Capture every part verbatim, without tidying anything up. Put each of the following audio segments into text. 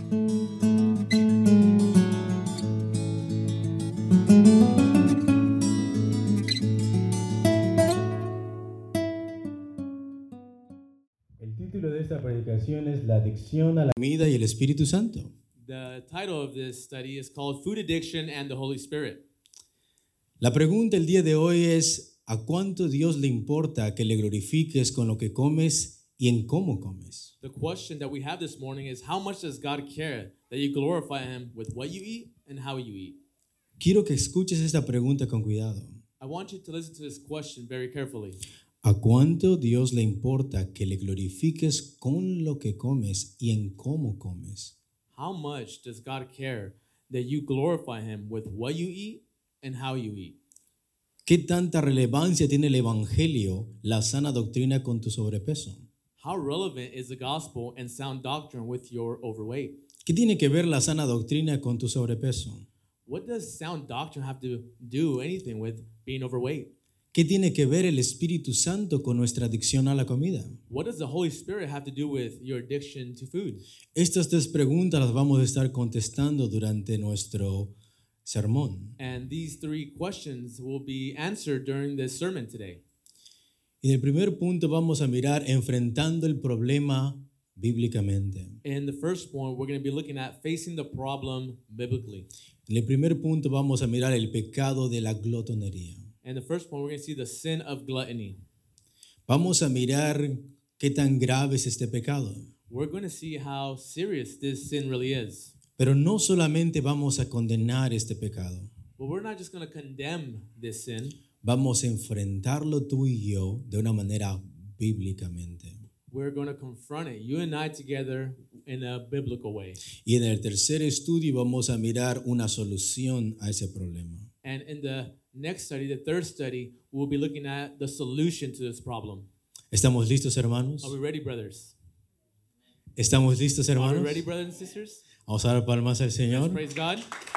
El título de esta predicación es La adicción a la comida y el Espíritu Santo. The title of this study is called Food Addiction and the Holy Spirit. La pregunta el día de hoy es, ¿a cuánto Dios le importa que le glorifiques con lo que comes y en cómo comes? The question that we have this morning is, how much does God care that you glorify Him with what you eat and how you eat? Quiero que escuches esta pregunta con cuidado. I want you to listen to this question very carefully. ¿A cuánto Dios le importa que le glorifiques con lo que comes y en cómo comes? How much does God care that you glorify Him with what you eat and how you eat? ¿Qué tanta relevancia tiene el Evangelio, la sana doctrina con tu sobrepeso? How relevant is the gospel and sound doctrine with your overweight? ¿Qué tiene que ver la sana doctrina con tu sobrepeso? What does sound doctrine have to do anything with being overweight? ¿Qué tiene que ver el Espíritu Santo con nuestra adicción a la comida? What does the Holy Spirit have to do with your addiction to food? Estas tres preguntas las vamos a estar contestando durante nuestro sermón. And these three questions will be answered during this sermon today. Y en el primer punto vamos a mirar enfrentando el problema bíblicamente. In the first point, we're going to be looking at facing the problem biblically. En el primer punto vamos a mirar el pecado de la glotonería. And the first point, we're going to see the sin of gluttony. Vamos a mirar qué tan grave es este pecado. We're going to see how serious this sin really is. Pero no solamente vamos a condenar este pecado. But we're not just going to condemn this sin. Vamos a enfrentarlo tú y yo de una manera bíblicamente. We're going to confront it, you and I together, in a biblical way. Y en el tercer estudio vamos a mirar una solución a ese problema. And in the next study, the third study, we'll be looking at the solution to this problem. ¿Estamos listos, hermanos? Are we ready, brothers? ¿Estamos listos, Are we hermanos? ready, brothers and sisters? Vamos a dar palmas al Señor. Praise God.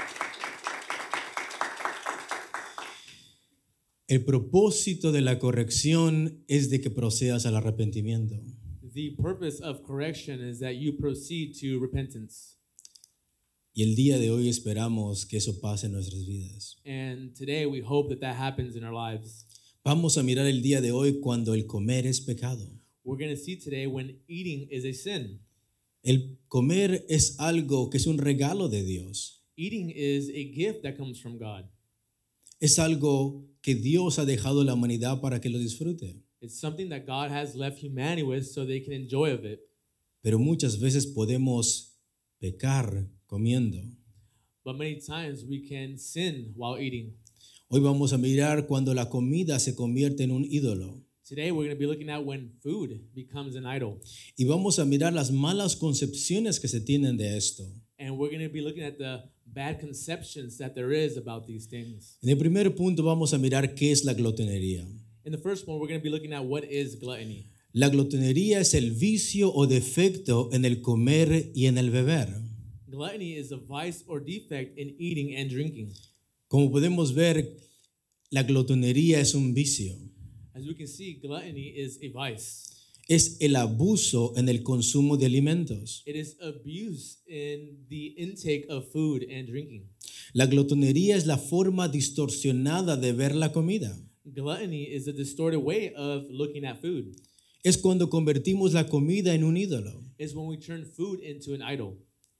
El propósito de la corrección es de que procedas al arrepentimiento. The purpose of correction is that you proceed to repentance. Y el día de hoy esperamos que eso pase en nuestras vidas. And today we hope that that happens in our lives. Vamos a mirar el día de hoy cuando el comer es pecado. We're going to see today when eating is a sin. El comer es algo que es un regalo de Dios. Eating is a gift that comes from God. Es algo que Dios ha dejado a la humanidad para que lo disfrute. It's something that God has left humanity with so they can enjoy of it. Pero muchas veces podemos pecar comiendo. But many times we can sin while eating. Hoy vamos a mirar cuando la comida se convierte en un ídolo. Today we're going to be looking at when food becomes an idol. Y vamos a mirar las malas concepciones que se tienen de esto. And we're going to be looking at the bad conceptions that there is about these things. En el primer punto vamos a mirar qué es la glotonería. In the first one, we're going to be looking at what is gluttony. La glotonería es el vicio o defecto en el comer y en el beber. Gluttony is a vice or defect in eating and drinking. Como podemos ver, la glotonería es un vicio. As we can see, gluttony is a vice. Es el abuso en el consumo de alimentos. It is abuse in the intake of food and drinking. La glotonería es la forma distorsionada de ver la comida. Gluttony is a distorted way of looking at food. Es cuando convertimos la comida en un ídolo. It's when we turn food into an idol.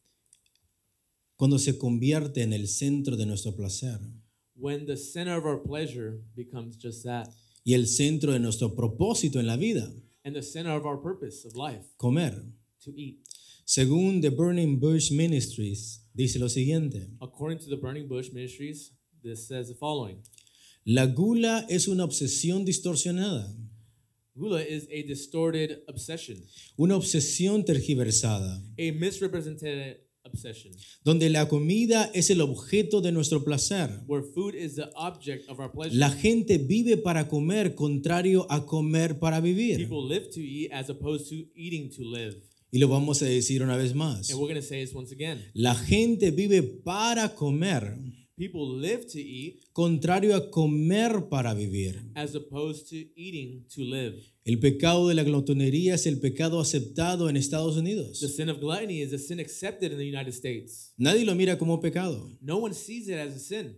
Cuando se convierte en el centro de nuestro placer. When the center of our pleasure becomes just that. Y el centro de nuestro propósito en la vida. And the center of our purpose of life. Comer. To eat. Según The Burning Bush Ministries, dice lo siguiente. According to the Burning Bush Ministries, this says the following. La gula es una obsesión distorsionada. Gula is a distorted obsession. Una obsesión tergiversada. A misrepresented obsession. Donde la comida es el objeto de nuestro placer. Where food is the object of our pleasure. La gente vive para comer, contrario a comer para vivir. People live to eat as opposed to eating to live. Y lo vamos a decir una vez más. And we're going to say this once again. La gente vive para comer. People live to eat contrario a comer para vivir. as opposed to eating to live. El pecado de la glotonería es el pecado aceptado en Estados The Unidos. sin of gluttony is a sin accepted in the United States. Nadie lo mira como pecado. No one sees it as a sin.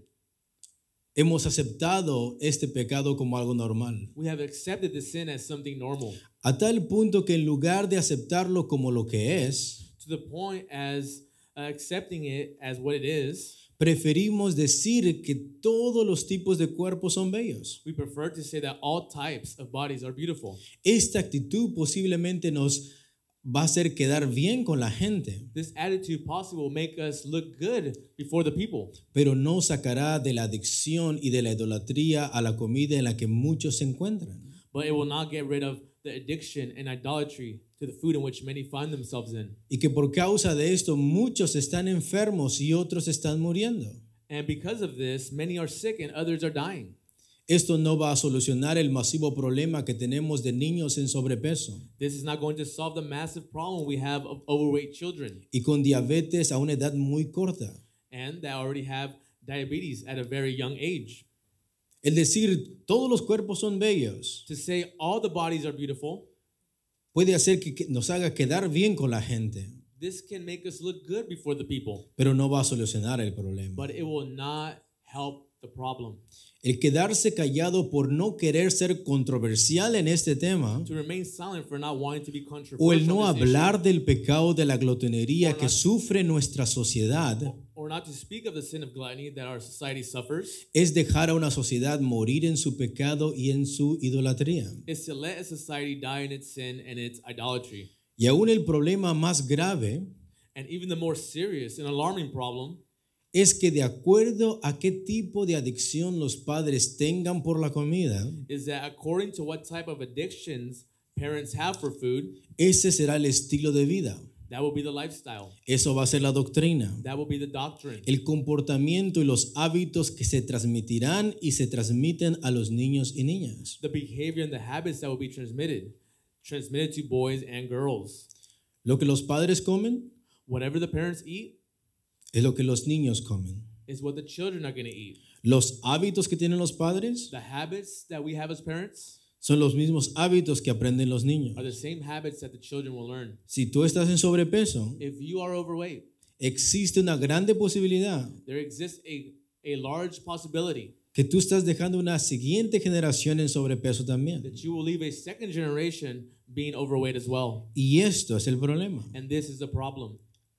Hemos aceptado este pecado como algo normal, We have accepted the sin as something normal, a tal punto que en lugar de aceptarlo como lo que es, to the point as uh, accepting it as what it is, preferimos decir que todos los tipos de cuerpos son bellos. we prefer to say that all types of bodies are beautiful. Esta actitud posiblemente nos va a hacer quedar bien con la gente, This attitude possibly will make us look good before the people, pero no sacará de la adicción y de la idolatría a la comida en la que muchos se encuentran. but it will not get rid of the addiction and idolatry to the food in which many find themselves in. Y que por causa de esto muchos están enfermos y otros están muriendo. And because of this, many are sick and others are dying. Esto no va a solucionar el masivo problema que tenemos de niños en sobrepeso This is not going to solve the massive problem we have of overweight children y con diabetes a una edad muy corta. and that already have diabetes at a very young age. El decir todos los cuerpos son bellos To say all the bodies are beautiful, puede hacer que que nos haga quedar bien con la gente, this can make us look good before the people, pero no va a solucionar el problema. but it will not help the problem. El quedarse callado por no querer ser controversial en este tema To remain silent for not wanting to be controversial o el no on this hablar del pecado de la glotonería Or que not- sufre nuestra sociedad issue, or not to speak of the sin of gluttony that our society suffers, es dejar a una sociedad morir en su pecado y en su idolatría. is to let a society die in its sin and its idolatry. Y aún el problema más grave And even the more serious and alarming problem es que de acuerdo a qué tipo de adicción los padres tengan por la comida, is that according to what type of addictions parents have for food, ese será el estilo de vida. that will be the lifestyle. Eso va a ser la doctrina, That will be the doctrine. el comportamiento y los hábitos que se transmitirán y se transmiten a los niños y niñas. The behavior and the habits that will be transmitted, transmitted to boys and girls. Lo que los padres comen Whatever the parents eat es lo que los niños comen. is what the children are going to eat. Los hábitos que tienen los padres The habits that we have as parents son los mismos hábitos que aprenden los niños. are the same habits that the children will learn. Si tú estás en sobrepeso, If you are overweight, existe una grande posibilidad there exists a, a large possibility que tú estás dejando una siguiente generación en sobrepeso también. that you will leave a second generation being overweight as well. Y esto es el problema. And this is the problem.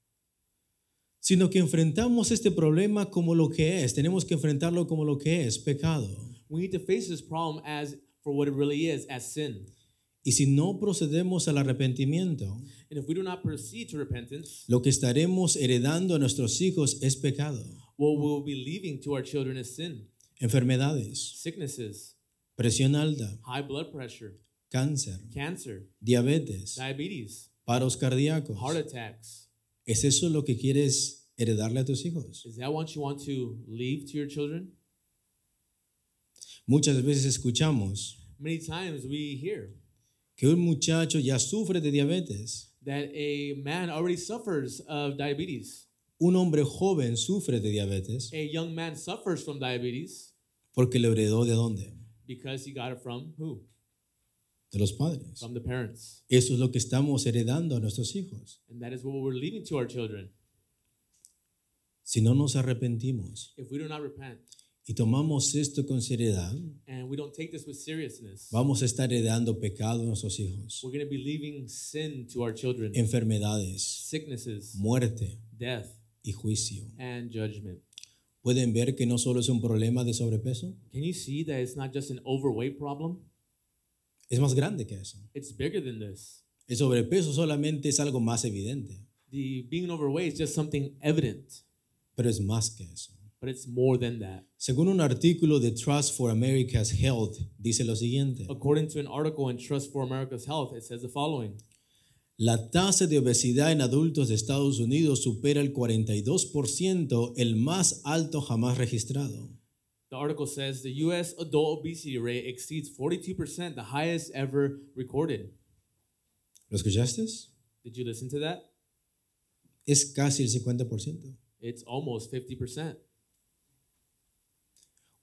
Sino que enfrentamos este problema como lo que es. Tenemos que enfrentarlo como lo que es, pecado. We need to face this problem as for what it really is, as sin. Y si no procedemos al arrepentimiento, And if we do not proceed to repentance, lo que estaremos heredando a nuestros hijos es pecado. what we will be leaving to our children is sin, Enfermedades, sicknesses, presión alta, high blood pressure, cáncer, cancer, diabetes, diabetes, paros cardíacos. heart attacks. ¿Es eso lo que quieres heredarle a tus hijos? Is that what you want to leave to your children? Muchas veces escuchamos Many times we hear que un muchacho ya sufre de diabetes. that a man already suffers of diabetes. Un hombre joven sufre de diabetes A young man suffers from diabetes porque lo heredó de dónde? because he got it from who? De los padres. From the parents. Eso es lo que estamos heredando a nuestros hijos. And that is what we're leaving to our children. Si no nos arrepentimos If we do not repent y tomamos esto con seriedad, and we don't take this with seriousness, vamos a estar heredando pecado a nuestros hijos, we're going to be leaving sin to our children, enfermedades, sicknesses, muerte death, y juicio. and judgment. ¿Pueden ver que no solo es un problema de sobrepeso? Can you see that it's not just an overweight problem? Es más grande que eso. It's bigger than this. El sobrepeso solamente es algo más evidente, The being overweight is just something evident, pero es más que eso. but it's more than that. Según un artículo de Trust for America's Health, dice lo siguiente: According to an article in Trust for America's Health, it says the following. la tasa de obesidad en adultos de Estados Unidos supera el cuarenta y dos por ciento, el más alto jamás registrado. The article says the U S adult obesity rate exceeds forty-two percent, the highest ever recorded. ¿Lo escuchaste? Did you listen to that? Es casi el cincuenta por ciento. It's almost fifty percent.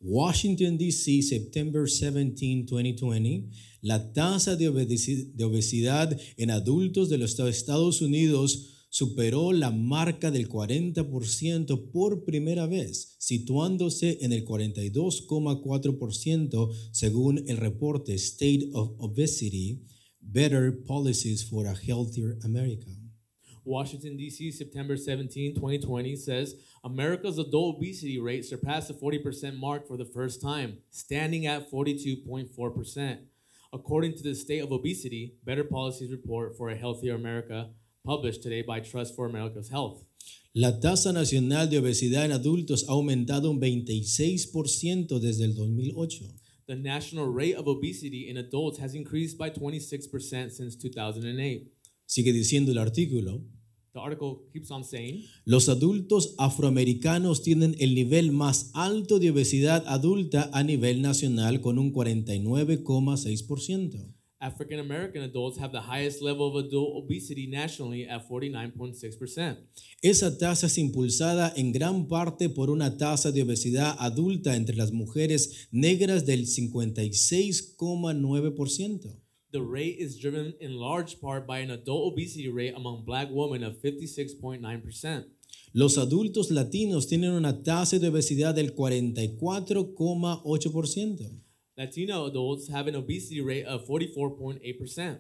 Washington, D C, September seventeenth, twenty twenty, la tasa de obesi- de obesidad en adultos de los Estados Unidos superó la marca del cuarenta por ciento por primera vez, situándose en el cuarenta y dos coma cuatro por ciento según el reporte State of Obesity, Better Policies for a Healthier America. Washington, D C, September seventeenth, twenty twenty says America's adult obesity rate surpassed the forty percent mark for the first time, standing at forty-two point four percent. According to the State of Obesity, Better Policies Report for a Healthier America, published today by Trust for America's Health. La tasa nacional de obesidad en adultos ha aumentado un veintiséis por ciento desde el dos mil ocho. The national rate of obesity in adults has increased by twenty-six percent since two thousand eight. Sigue diciendo el artículo, The article keeps on saying, los adultos afroamericanos tienen el nivel más alto de obesidad adulta a nivel nacional con un cuarenta y nueve coma seis por ciento. African American adults have the highest level of adult obesity nationally at forty-nine point six percent. Esa tasa es impulsada en gran parte por una tasa de obesidad adulta entre las mujeres negras del cincuenta y seis coma nueve por ciento. The rate is driven in large part by an adult obesity rate among black women of fifty-six point nine percent. Los adultos latinos tienen una tasa de obesidad del cuarenta y cuatro coma ocho por ciento. Latino adults have an obesity rate of forty-four point eight percent.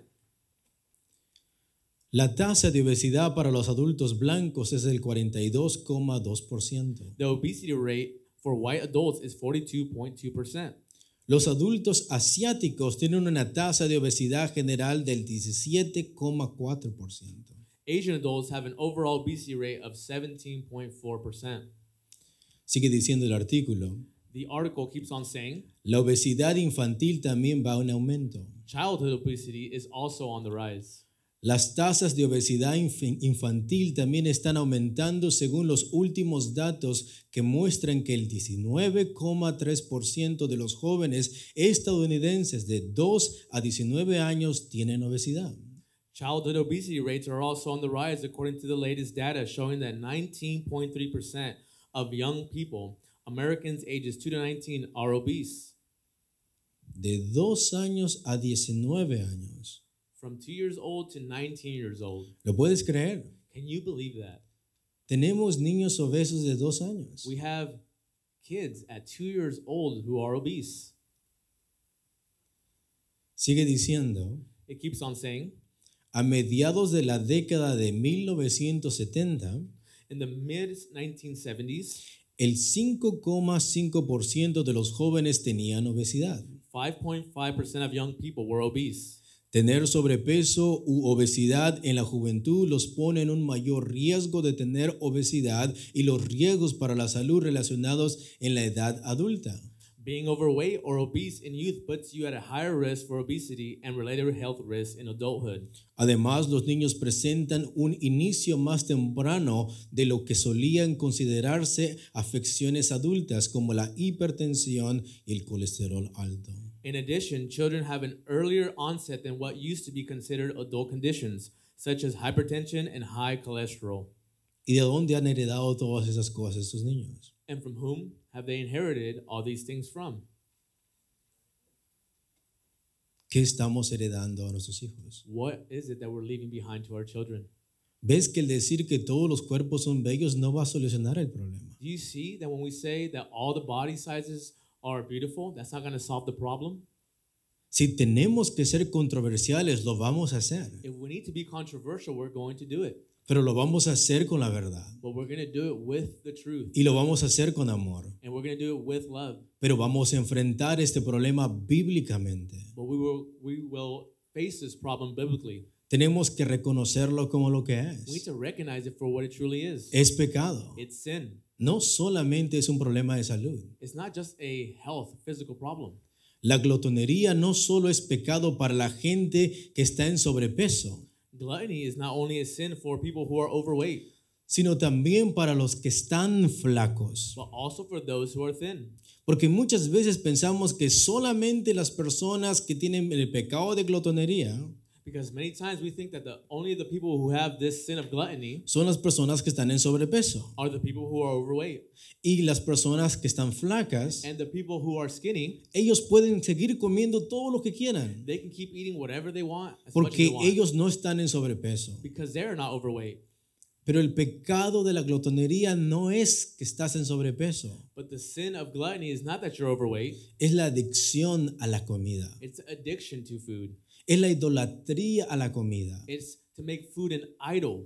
La tasa de obesidad para los adultos blancos es del cuarenta y dos coma dos por ciento. The obesity rate for white adults is forty-two point two percent. Los adultos asiáticos tienen una tasa de obesidad general del diecisiete coma cuatro por ciento. Asian adults have an overall obesity rate of seventeen point four percent. Sigue diciendo el artículo, The article keeps on saying, la obesidad infantil también va en aumento. childhood obesity is also on the rise. Las tasas de obesidad inf- infantil también están aumentando según los últimos datos que muestran que el diecinueve coma tres por ciento de los jóvenes estadounidenses de dos a diecinueve años tienen obesidad. Childhood obesity rates are also on the rise according to the latest data showing that nineteen point three percent of young people, Americans ages two to nineteen, are obese. De dos años a diecinueve años. From two years old to nineteen years old. ¿Lo puedes creer? Can you believe that? Tenemos niños obesos de dos años. We have kids at two years old who are obese. Sigue diciendo, It keeps on saying, a mediados de la década de mil novecientos setenta, in the mid nineteen seventies, el cinco coma cinco por ciento de los jóvenes tenían obesidad. five point five percent of young people were obese. Tener sobrepeso u obesidad en la juventud los pone en un mayor riesgo de tener obesidad y los riesgos para la salud relacionados en la edad adulta. Being overweight or obese in youth puts you at a higher risk for obesity and related health risks in adulthood. Además, los niños presentan un inicio más temprano de lo que solían considerarse afecciones adultas como la hipertensión y el colesterol alto. In addition, children have an earlier onset than what used to be considered adult conditions, such as hypertension and high cholesterol. ¿Y de dónde han heredado todas esas cosas estos niños? And from whom have they inherited all these things from? ¿Qué estamos heredando a nuestros hijos? What is it that we're leaving behind to our children? ¿Ves que el decir que todos los cuerpos son bellos no va a solucionar el problema? Do you see that when we say that all the body sizes are beautiful, that's not going to solve the problem? Si tenemos que ser controversiales, lo vamos a hacer, If we need to be controversial, we're going to do it. pero lo vamos a hacer con la verdad But we're going to do it with the truth. y lo vamos a hacer con amor, And we're going to do it with love. pero vamos a enfrentar este problema bíblicamente. But we will, we will face this problem biblically. Tenemos que reconocerlo como lo que We need es. to recognize it for what it truly is. Es pecado. It's sin. No solamente es un problema de salud. It's not just a health, physical problem. La glotonería no solo es pecado para la gente que está en sobrepeso, Gluttony is not only a sin for people who are overweight, sino también para los que están flacos. but also for those who are thin. Porque muchas veces pensamos que solamente las personas que tienen el pecado de glotonería Because many times we think that the only the people who have this sin of gluttony son las personas que están en sobrepeso. are the people who are overweight. Y las personas que están flacas, And the people who are skinny, ellos pueden seguir comiendo todo lo que quieran, they can keep eating whatever they want as much as they porque want. ellos no están en sobrepeso. Because they're not overweight. Pero el pecado de la glotonería no es que estás en sobrepeso, But the sin of gluttony is not that you're overweight. es la adicción a la comida, It's addiction to food. es la idolatría a la comida. It's to make food an idol.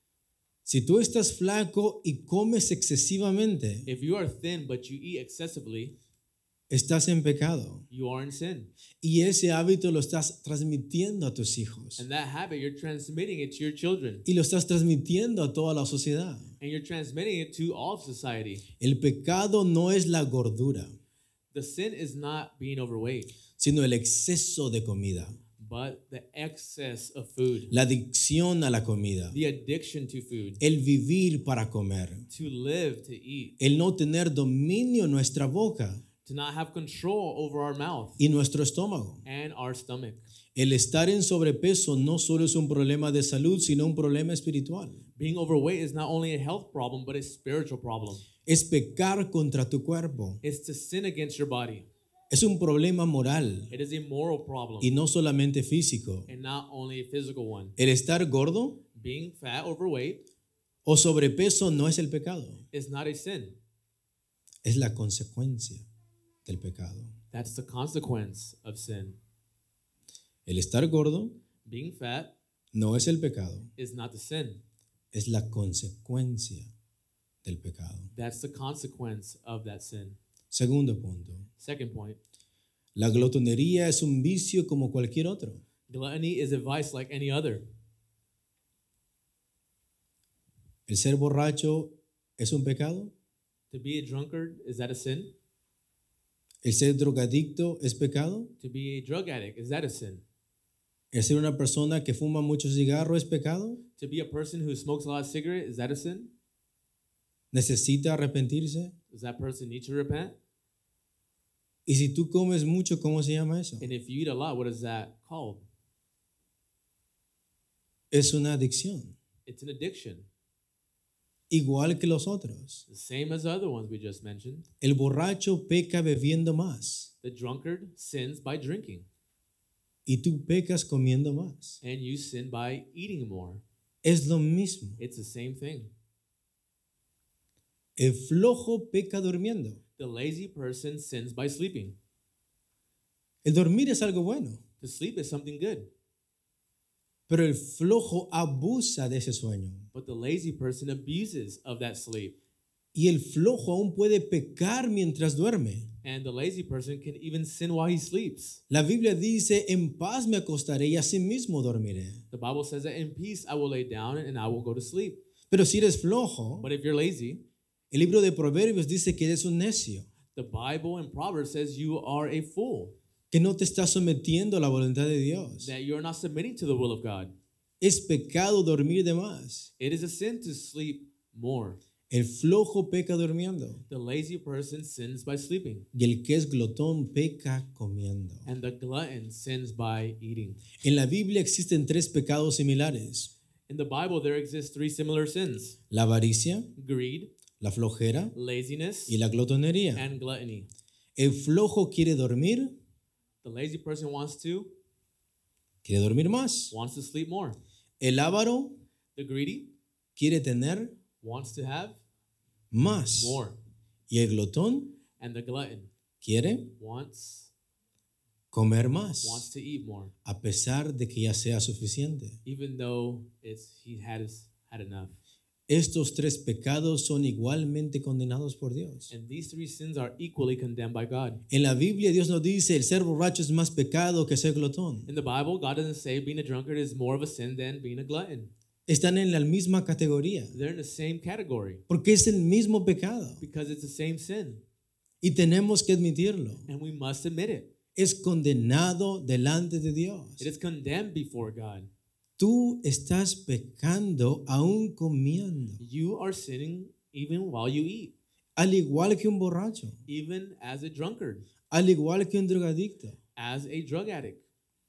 Si tú estás flaco y comes excesivamente, If you are thin but you eat excessively, estás en pecado. you are in sin. Y ese hábito lo estás transmitiendo a tus hijos. And that habit, you're transmitting it to your children. Y lo estás transmitiendo a toda la sociedad. And you're transmitting it to all of society. El pecado no es la gordura, The sin is not being overweight, sino el exceso de comida, but the excess of food, la adicción a la comida, the addiction to food, el vivir para comer, to live, to eat, el no tener dominio en nuestra boca to not have control over our mouth y nuestro estómago. and our stomach. El estar en sobrepeso no solo es un problema de salud, sino un problema espiritual. Being overweight is not only a health problem, but a spiritual problem. Es pecar contra tu cuerpo. It's to sin against your body. Es un problema moral It is a moral problem y no solamente físico. and not only a physical one. El estar gordo Being fat, overweight, o sobrepeso no es el pecado, is not a sin. es la consecuencia del pecado. That's the consequence of sin. El estar gordo Being fat no es el pecado, is not the sin. es la consecuencia del pecado. That's the consequence of that sin. Segundo punto. Second point, La glotonería es un vicio como cualquier otro. gluttony is a vice like any other. ¿El ser borracho es un pecado? To be a drunkard, is that a sin? ¿El ser drogadicto es pecado? To be a drug addict, is that a sin? ¿El ser una persona que fuma mucho cigarro es pecado? To be a person who smokes a lot of cigarettes, is that a sin? ¿Necesita arrepentirse? Does that person need to repent? Y si tú comes mucho, ¿cómo se llama eso? And if you eat a lot, what is that called? Es una adicción, It's an addiction, igual que los otros. the same as the other ones we just mentioned. El borracho peca bebiendo más The drunkard sins by drinking, y tú pecas comiendo más. and you sin by eating more. Es lo mismo. It's the same thing. El flojo peca durmiendo. The lazy person sins by sleeping. El dormir es algo bueno, To sleep is something good, pero el flojo abusa de ese sueño. but the lazy person abuses of that sleep. Y el flojo aún puede pecar mientras duerme. And the lazy person can even sin while he sleeps. La Biblia dice, en paz me acostaré y asimismo dormiré. The Bible says that in peace I will lay down and I will go to sleep. Pero si eres flojo, But if you're lazy, el libro de Proverbios dice que eres un necio, the Bible in Proverbs says you are a fool, que no te estás sometiendo a la voluntad de Dios. that you're not submitting to the will of God. Es pecado dormir de más. It is a sin to sleep more. El flojo peca durmiendo The lazy person sins by sleeping, y el que es glotón peca comiendo. and the glutton sins by eating. En la Biblia existen tres pecados similares: In the Bible, there exist three similar sins: la avaricia, greed, la flojera laziness, y la glotonería. and gluttony. El flojo quiere dormir, The lazy person wants to quiere dormir más. wants to sleep more. El avaro The greedy quiere tener wants to have más. more, Y el glotón and the glutton quiere wants comer wants más, to eat more, a pesar de que ya sea suficiente. even though it's he had his, had enough. Estos tres pecados son igualmente condenados por Dios. And these three sins are equally condemned by God. En la Biblia Dios nos dice, el ser borracho es más pecado que ser glotón. In the Bible, God doesn't say being a drunkard is more of a sin than being a glutton. Están en la misma categoría, They're in the same category porque es el mismo pecado because it's the same sin, y tenemos que admitirlo. and we must admit it. Es condenado delante de Dios. It is condemned before God. Tú estás pecando aún comiendo, You are sinning even while you eat, al igual que un borracho, even as a drunkard, al igual que un drogadicto. as a drug addict.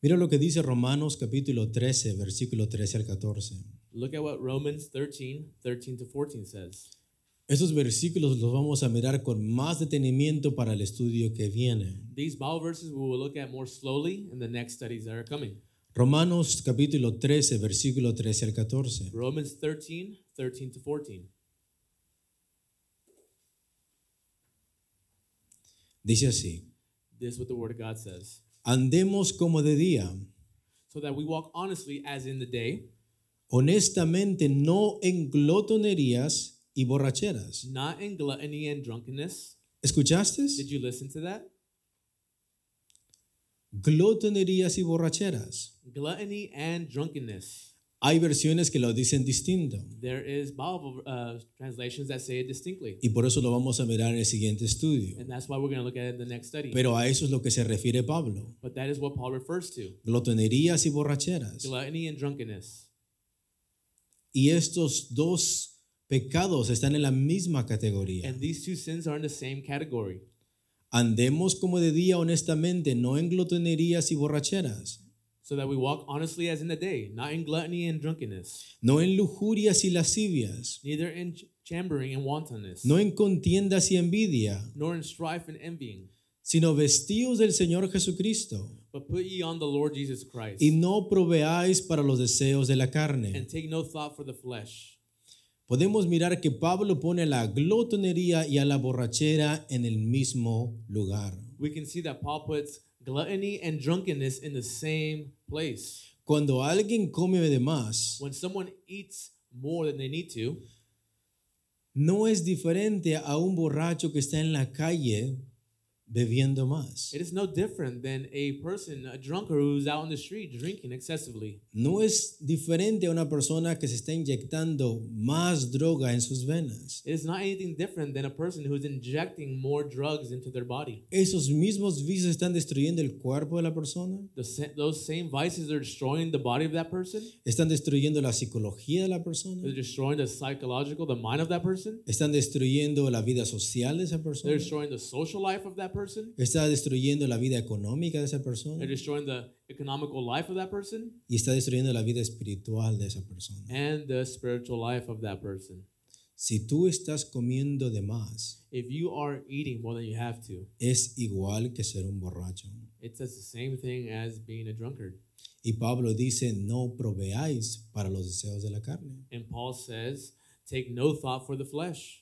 Mira lo que dice Romanos capítulo trece, versículo trece al catorce. Look at what Romans thirteen, thirteen to fourteen says. Estos versículos los vamos a mirar con más detenimiento para el estudio que viene. These Bible verses we will look at more slowly in the next studies that are coming. Romanos capítulo trece, versículo trece al catorce. Romans thirteen, thirteen to fourteen. Dice así: This is what the Word of God says. andemos como de día, So that we walk honestly as in the day, honestamente, no en glotonerías y borracheras. not in gluttony and drunkenness. ¿Escuchaste? Did you listen to that? Glotonerías y borracheras. Gluttony and drunkenness. Hay versiones que lo dicen distinto There is Bible uh, translations that say it distinctly. y por eso lo vamos a mirar en el siguiente estudio. And that's why we're going to look at it in the next study. Pero a eso es lo que se refiere Pablo. But that is what Paul refers to. Glotonerías y borracheras. Gluttony and drunkenness. Y estos dos pecados están en la misma categoría. And these two sins are in the same category. Andemos como de día honestamente, no en glotonerías y borracheras, So that we walk honestly as in the day, not in gluttony and drunkenness, no en lujurias y lascivias, neither in ch- chambering and wantonness, no en contiendas y envidia, nor in strife and envying, sino vestidos del Señor Jesucristo, but put ye on the Lord Jesus Christ, y no proveáis para los deseos de la and carne. take no thought for the flesh. Podemos mirar que Pablo pone a la glotonería y a la borrachera en el mismo lugar. We can see that Paul puts gluttony and drunkenness in the same place. Cuando alguien come de más, When someone eats more than they need to, no es diferente a un borracho que está en la calle bebiendo más. it is no different than a person, a drunkard who's out on the street drinking excessively. No es diferente a una persona que se está inyectando más droga en sus venas. It is not anything different than a person who's injecting more drugs into their body. Esos mismos vicios están destruyendo el cuerpo de la persona, The, sa- those same vices are destroying the body of that person. están destruyendo la psicología de la persona, They're destroying the psychological, the mind of that person. están destruyendo la vida social de esa They're persona, destroying the social life of that person. está destruyendo la vida económica de esa They're persona destroying the economical life of that person y está destruyendo la vida espiritual de esa persona. and the spiritual life of that person. Si tú estás comiendo de más, If you are eating more than you have to, es igual que ser un borracho. it says the same thing as being a drunkard. Y Pablo dice, no proveáis para los deseos de la carne. And Paul says, take no thought for the flesh.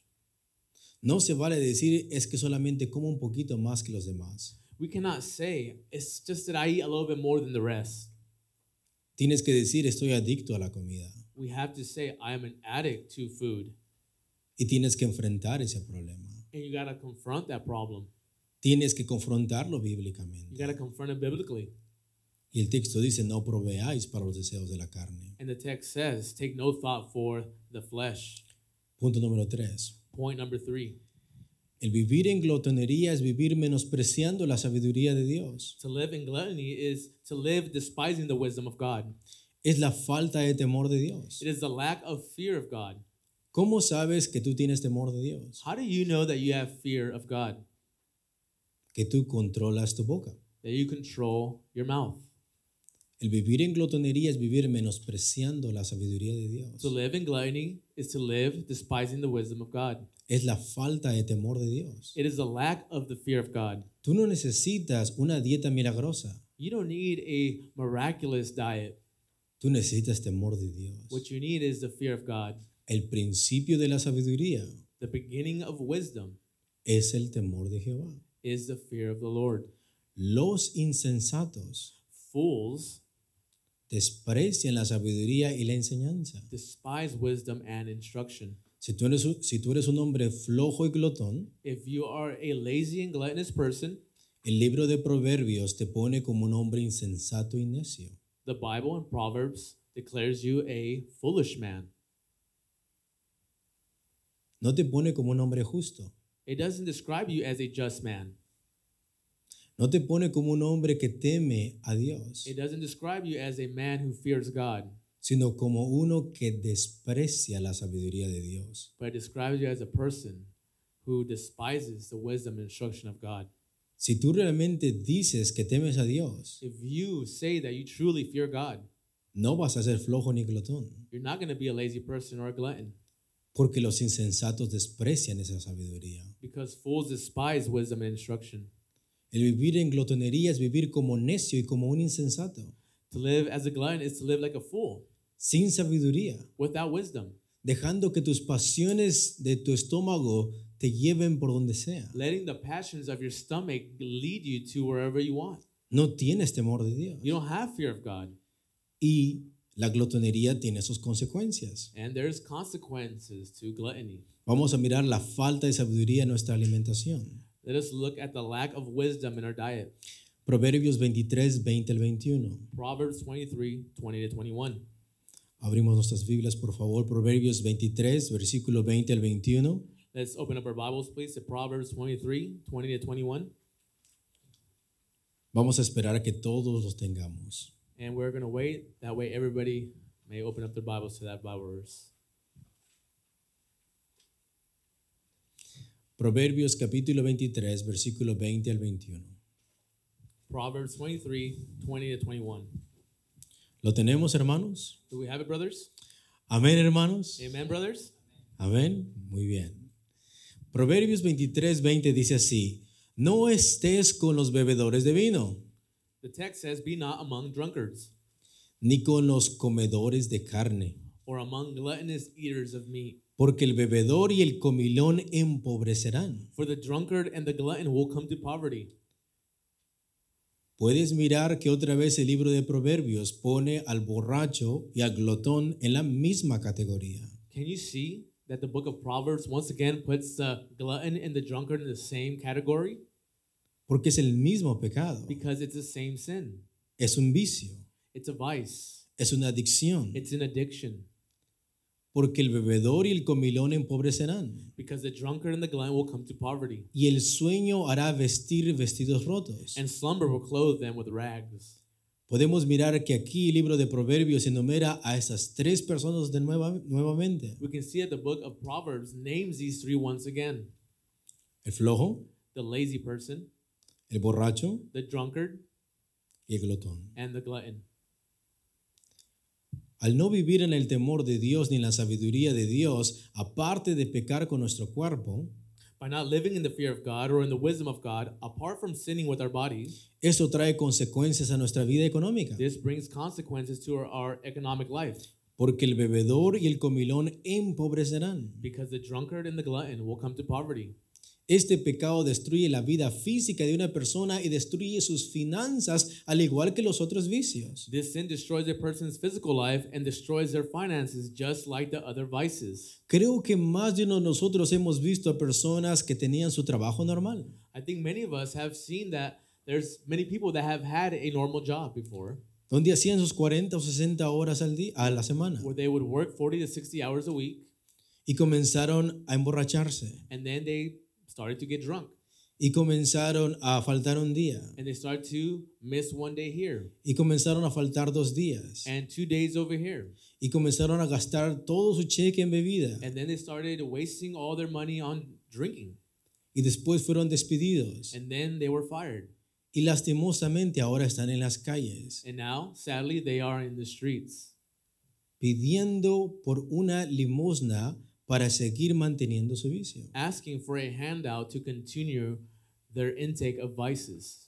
No se vale decir es que solamente como un poquito más que los demás. We cannot say, it's just that I eat a little bit more than the rest. Tienes que decir estoy adicto a la comida We have to say, I am an addict to food. y tienes que enfrentar ese problema. And you got to confront that problem. Tienes que confrontarlo You bíblicamente. got to confront it biblically. Y el texto dice no proveáis para los deseos de la carne. And the text says, take no thought for the flesh. Punto número tres. Point number three, El vivir en glotonería es vivir menospreciando la sabiduría de Dios. to live in gluttony is to live despising the wisdom of God. Es la falta de temor de Dios. It is the lack of fear of God. ¿Cómo sabes que tú tienes temor de Dios? How do you know that you have fear of God? Que tú controlas tu boca. That you control your mouth. El vivir en glotonería es vivir menospreciando la sabiduría de Dios. To live in gluttony is to live despising the wisdom of God. Es la falta de temor de Dios. It is the lack of the fear of God. Tú no necesitas una dieta milagrosa. You don't need a miraculous diet. Tú necesitas temor de Dios. What you need is the fear of God. El principio de la sabiduría The beginning of wisdom es el temor de Jehová. is the fear of the Lord. Los insensatos Fools desprecian la sabiduría y la enseñanza. despise wisdom and instruction. Si tú eres, un- si tú eres un hombre flojo y glotón, If you are a lazy and gluttonous person, el libro de Proverbios te pone como un hombre insensato y necio. the Bible in Proverbs declares you a foolish man. No te pone como un hombre justo. It doesn't describe you as a just man. No te pone como un hombre que teme a Dios, It doesn't describe you as a man who fears God, sino como uno que desprecia la sabiduría de Dios. but it describes you as a person who despises the wisdom and instruction of God. Si tú realmente dices que temes a Dios, if you say that you truly fear God, no vas a ser flojo ni glotón, you're not going to be a lazy person or a glutton, porque los insensatos desprecian esa sabiduría. because fools despise wisdom and instruction. El vivir en glotonería es vivir como necio y como un insensato, To live as a glutton is to live like a fool, sin sabiduría, without wisdom, dejando que tus pasiones de tu estómago te lleven por donde sea. letting the passions of your stomach lead you to wherever you want. No tienes temor de Dios. You don't have fear of God, Y la glotonería tiene sus consecuencias. and there's consequences to gluttony. Vamos a mirar la falta de sabiduría en nuestra alimentación. Let us look at the lack of wisdom in our diet. Proverbios veintitrés, veinte al veintiuno. Proverbs twenty-three, twenty to twenty-one. Abrimos nuestras Biblias, por favor. Proverbios veintitrés, versículo veinte al veintiuno. Let's open up our Bibles, please, to Proverbs twenty-three, twenty to twenty-one. Vamos a esperar a que todos los tengamos. And we're going to wait. That way everybody may open up their Bibles to that Bible verse. Proverbios capítulo veintitrés, versículo veinte al veintiuno. Proverbs twenty-three, twenty to twenty-one. ¿Lo tenemos, hermanos? Do we have it, brothers? Amén, hermanos. Amen, brothers? Amén. Muy bien. Proverbios veintitrés, veinte dice así: No estés con los bebedores de vino, The text says, "Be not among drunkards, ni con los comedores de carne, or among gluttonous eaters of meat. porque el bebedor y el comilón empobrecerán. For the drunkard and the glutton will come to poverty." Puedes mirar que otra vez el libro de Proverbios pone al borracho y al glotón en la misma categoría. Can you see that the book of Proverbs once again puts the glutton and the drunkard in the same category? Porque es el mismo pecado. Because it's the same sin. Es un vicio. It's a vice. Es una adicción. It's an addiction. Porque el bebedor y el comilón empobrecerán. Because the drunkard and the glutton will come to poverty. Y el sueño hará vestir vestidos rotos. And slumber will clothe them with rags. Podemos mirar que aquí el libro de Proverbios enumera a esas tres personas de nueva, nuevamente. We can see that the book of Proverbs names these three once again. El flojo, The lazy person, el borracho the drunkard, y el glotón. and the glutton. Al no vivir en el temor de Dios ni en la sabiduría de Dios, aparte de pecar con nuestro cuerpo, By not living in the fear of God or in the wisdom of God, apart from sinning with our bodies, eso trae consecuencias a nuestra vida económica. this brings consequences to our, our economic life. Porque el bebedor y el comilón empobrecerán. Because the drunkard and the glutton will come to poverty. Este pecado destruye la vida física de una persona y destruye sus finanzas, al igual que los otros vicios. This sin destroys a person's physical life and destroys their finances just like the other vices. Creo que más de uno de nosotros hemos visto a personas que tenían su trabajo normal, I think many of us have seen that there's many people that have had a normal job before, donde hacían sus cuarenta o sesenta horas al día, a la semana, where they would work forty to sixty hours a week, y comenzaron a emborracharse, and then they started to get drunk, y comenzaron a faltar un día, and they started to miss one day here y comenzaron a faltar dos días, and two days over here, y comenzaron a gastar todo su cheque en bebida, and then they started wasting all their money on drinking, y después fueron despedidos, and then they were fired, y lastimosamente ahora están en las calles, and now sadly they are in the streets, pidiendo por una limosna para seguir manteniendo su vicio. asking for a handout to continue their intake of vices.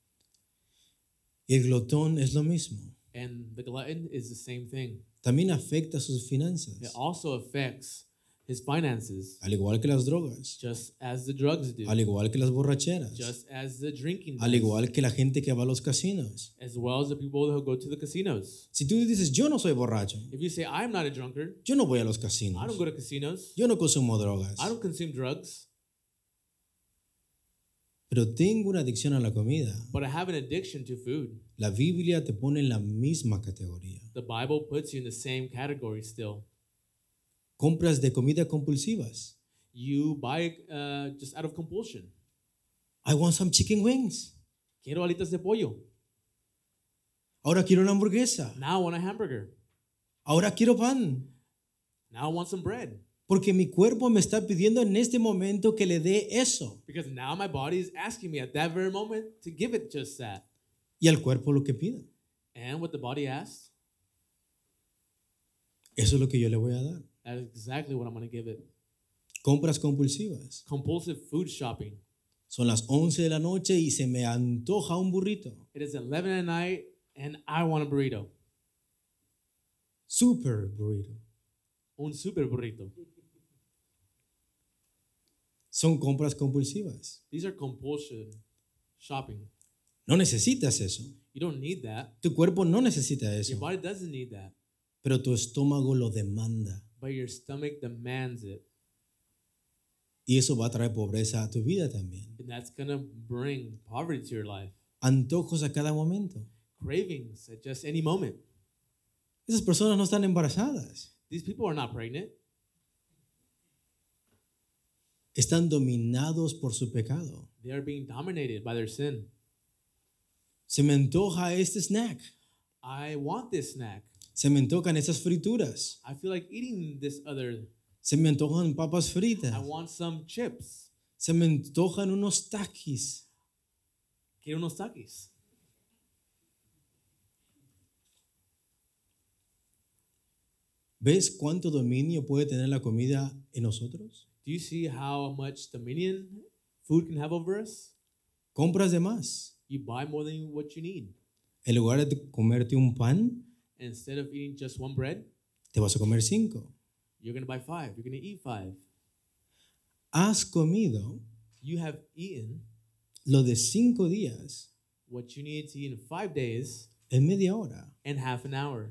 Y el glotón es lo mismo. And the glutton is the same thing. También afecta sus It finanzas, also affects his finances, al igual que las drogas, just as the drugs do, al igual que las borracheras, just as the drinking al does, igual que la gente que va a los casinos. as well as the people who go to the casinos. Si tú dices, yo no soy borracho, If you say, I'm not a drunkard, yo no voy a los I casinos, don't go to casinos, yo no consumo drogas, I don't consume drugs, pero tengo una adicción a la comida, but I have an addiction to food. la Biblia te pone en la misma categoría. The Bible puts you in the same category still. Compras de comida compulsivas. You buy uh, just out of compulsion. I want some chicken wings. Quiero alitas de pollo. Ahora quiero una hamburguesa. Now I want a hamburger. Ahora quiero pan. Now I want some bread. Porque mi cuerpo me está pidiendo en este momento que le dé eso. Because now my body is asking me at that very moment to give it just that. Y al cuerpo lo que pida. And what the body asks, Eso es lo que yo le voy a dar. that is exactly what I'm going to give it. Compras compulsivas. Compulsive food shopping. Son las once de la noche y se me antoja un burrito. It is eleven at night and I want a burrito. Super burrito. Un super burrito. Son compras compulsivas. These are compulsion shopping. No necesitas eso. You don't need that. Tu cuerpo no necesita Your eso. body doesn't need that. Pero tu estómago lo demanda. But your stomach demands it. Y eso va a traer pobreza a tu vida también. And that's going to bring poverty to your life. Antojos a cada momento. Cravings at just any moment. Esas personas no están embarazadas. These people are not pregnant. Están dominados por su pecado. They are being dominated by their sin. Se me antoja este snack. I want this snack. Se me antojan esas frituras. I feel like eating this other. Se me antojan papas fritas. I want some chips. Se me antojan unos taquis. Quiero unos takis. ¿Ves cuánto dominio puede tener la comida en nosotros? Do you see how much dominion food can have over us? Compras de más. You buy more than what you need. En lugar de comerte un pan, And instead of eating just one bread, te vas a comer cinco. you're going to buy five. You're going to eat five. Has comido You have eaten lo de cinco días what you need to eat in five days en media hora. and half an hour.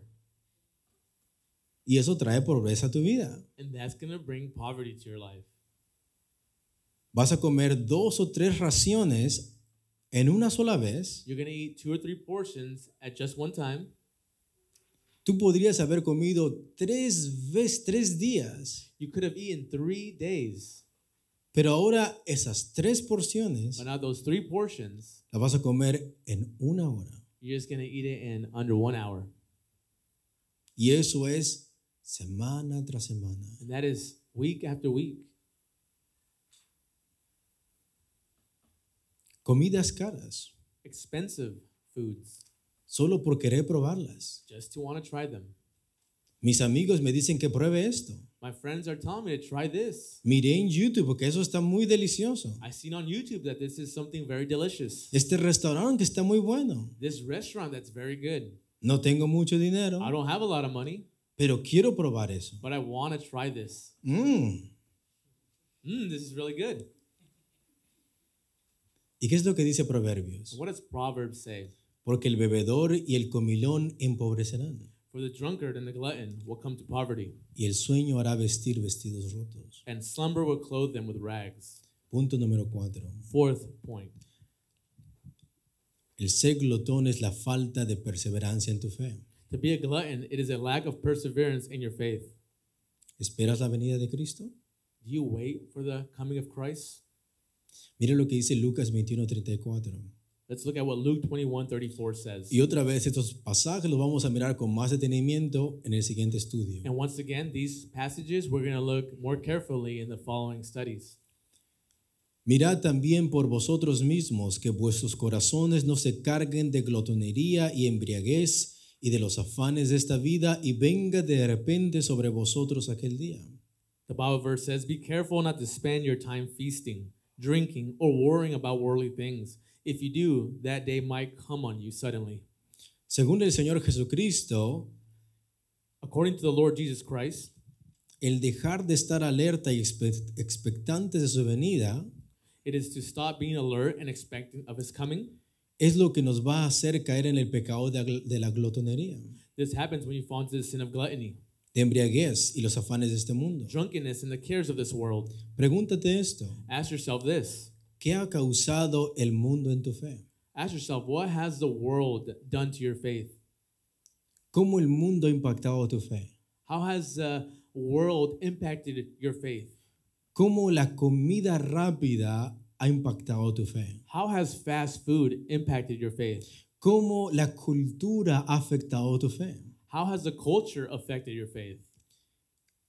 Y eso trae pobreza a tu vida. And that's going to bring poverty to your life. Vas a comer dos o tres raciones en una sola vez. You're going to eat two or three portions at just one time. Tú podrías haber comido tres veces, tres días. You could have eaten three days. Pero ahora esas tres porciones But now those three portions, las vas a comer en una hora. you're just going to eat it in under one hour. Y eso es semana tras semana. And that is week after week. Comidas caras, Expensive foods, solo por querer probarlas. just to want to try them. Mis amigos me dicen que pruebe esto. My friends are telling me to try this. Miré en YouTube porque eso está muy delicioso. I've seen on YouTube that this is something very delicious. Este restaurante que está muy bueno. This restaurant that's very good. No tengo mucho dinero, I don't have a lot of money, pero quiero probar eso. but I want to try this. Mm. Mmm, this is really good. ¿Y qué es lo que dice Proverbios? What does Proverbs say? Porque el bebedor y el comilón empobrecerán, For the drunkard and the glutton will come to poverty, y el sueño hará vestir vestidos rotos. and slumber will clothe them with rags. Punto número cuatro. Fourth point. El ser glotón es la falta de perseverancia en tu fe. To be a glutton, it is a lack of perseverance in your faith. ¿Esperas la venida de Cristo? Do you wait for the coming of Christ? Mira lo que dice Lucas veintiuno treinta y cuatro. Let's look at what Luke twenty-one thirty-four says. Y otra vez estos pasajes los vamos a mirar con más detenimiento en el siguiente estudio. And once again, these passages we're going to look more carefully in the following studies. Mirad también por vosotros mismos que vuestros corazones no se carguen de glotonería y embriaguez y de los afanes de esta vida, y venga de repente sobre vosotros aquel día. The Bible verse says, "Be careful not to spend your time feasting, drinking, or worrying about worldly things. If you do, that day might come on you suddenly." Según el Señor Jesucristo, According to the Lord Jesus Christ, el dejar de estar alerta y expe- expectantes de su venida it is to stop being alert and expectant of his coming. es lo que nos va a hacer caer en el pecado de, agl- de la glotonería, This happens when you fall into the sin of gluttony, de embriaguez y los afanes de este mundo. drunkenness, and the cares of this world. Pregúntate esto: Ask yourself this. ¿qué ha causado el mundo en tu fe? Ask yourself, what has the world done to your faith? ¿Cómo el mundo ha impactado tu fe? How has the world impacted your faith? ¿Cómo la comida rápida ha impactado tu fe? How has fast food impacted your faith? ¿Cómo la cultura ha afectado tu fe? How has the culture affected your faith?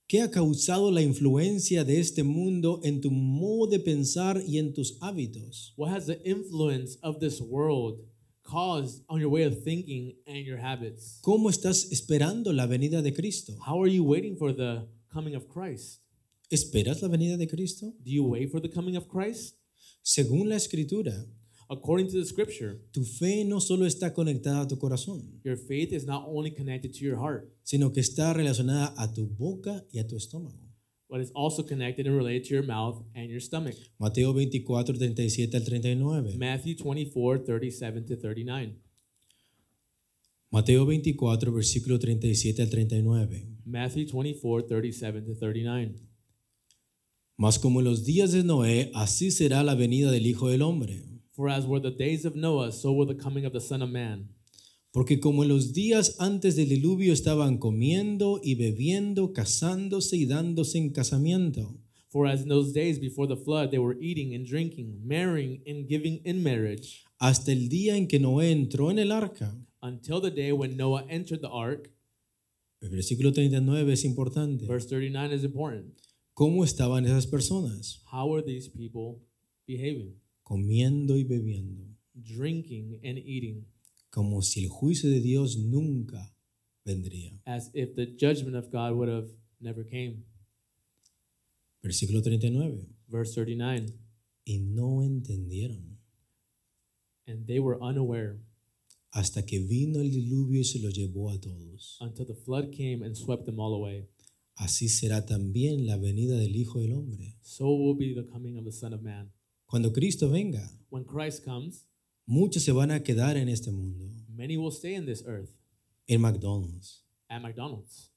¿Qué ha causado la influencia de este mundo en tu modo de pensar y en tus hábitos? What has the influence of this world caused on your way of thinking and your habits? ¿Cómo estás esperando la venida de Cristo? How are you waiting for the coming of Christ? ¿Esperas la venida de Cristo? Do you wait for the coming of Christ? Según la Escritura, According to the scripture, tu fe no solo está conectada a tu corazón, your faith is not only connected to your heart, sino que está relacionada a tu boca y a tu estómago. but it's also connected and related to your mouth and your stomach. Mateo veinticuatro, treinta y siete al treinta y nueve. Matthew twenty-four, thirty-seven to thirty-nine. Mateo veinticuatro, versículo treinta y siete al treinta y nueve. Matthew twenty-four, thirty-seven to thirty-nine. Mas como en los días de Noé, así será la venida del Hijo del Hombre. For as were the days of Noah, so will the coming of the Son of Man. Porque como en los días antes del diluvio estaban comiendo y bebiendo, casándose y dándose en casamiento, For as in those days before the flood, they were eating and drinking, marrying and giving in marriage, hasta el día en que Noé entró en el arca. until the day when Noah entered the ark. El versículo treinta y nueve es importante. Verse thirty-nine is important. ¿Cómo estaban esas personas? How are these people behaving? Comiendo y bebiendo, Drinking and eating, como si el juicio de Dios nunca vendría. as if the judgment of God would have never came. Versículo treinta y nueve. Verse thirty-nine. Y no entendieron And they were unaware hasta que vino el diluvio y se lo llevó a todos. until the flood came and swept them all away. Así será también la venida del Hijo del Hombre. So will be the coming of the Son of Man. Cuando Cristo venga, When Christ comes, muchos se van a quedar en este mundo, many will stay in this earth en McDonald's. at McDonald's.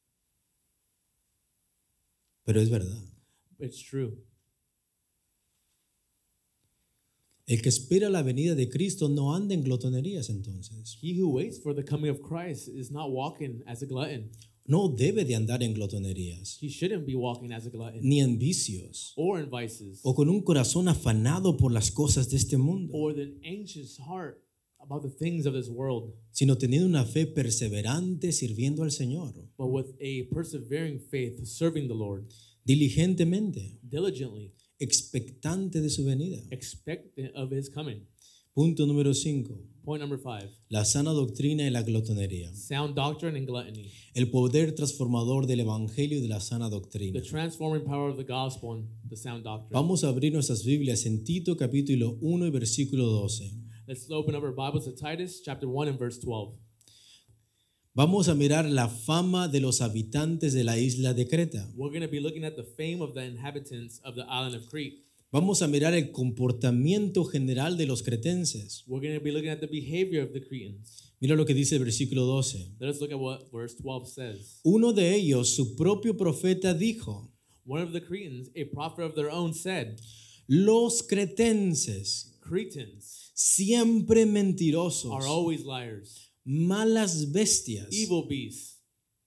Pero es verdad. It's true. El que espera la venida de Cristo no anda en glotonerías entonces. He who waits for the coming of Christ is not walking as a glutton. No debe de andar en glotonerías, He shouldn't be walking as a glutton ni en vicios, or in vices o con un corazón afanado por las cosas de este mundo, or with an anxious heart about the things of this world, sino teniendo una fe perseverante sirviendo al Señor, but with a persevering faith serving the Lord diligentemente, diligently, expectante de su venida. expectant of his coming. Punto número cinco. Point number five, La sana doctrina y la glotonería. sound doctrine and gluttony. El poder transformador del Evangelio y de la sana The doctrina. transforming power of the gospel and the sound doctrine. Vamos a abrir nuestras Biblias en Tito capítulo uno y versículo doce. Let's open up our Bibles to Titus chapter one and verse twelve. Vamos a mirar la fama de los habitantes de la isla de Creta. We're going to be looking at the fame of the inhabitants of the island of Crete. Vamos a mirar el comportamiento general de los cretenses. We're going to be looking at the behavior of the Cretans. Mira lo que dice el versículo doce. Let us look at what verse twelve says. Uno de ellos, su propio profeta, dijo: One of the Cretans, a prophet of their own, said, los cretenses, Cretans siempre mentirosos, are always liars, malas bestias. evil beasts.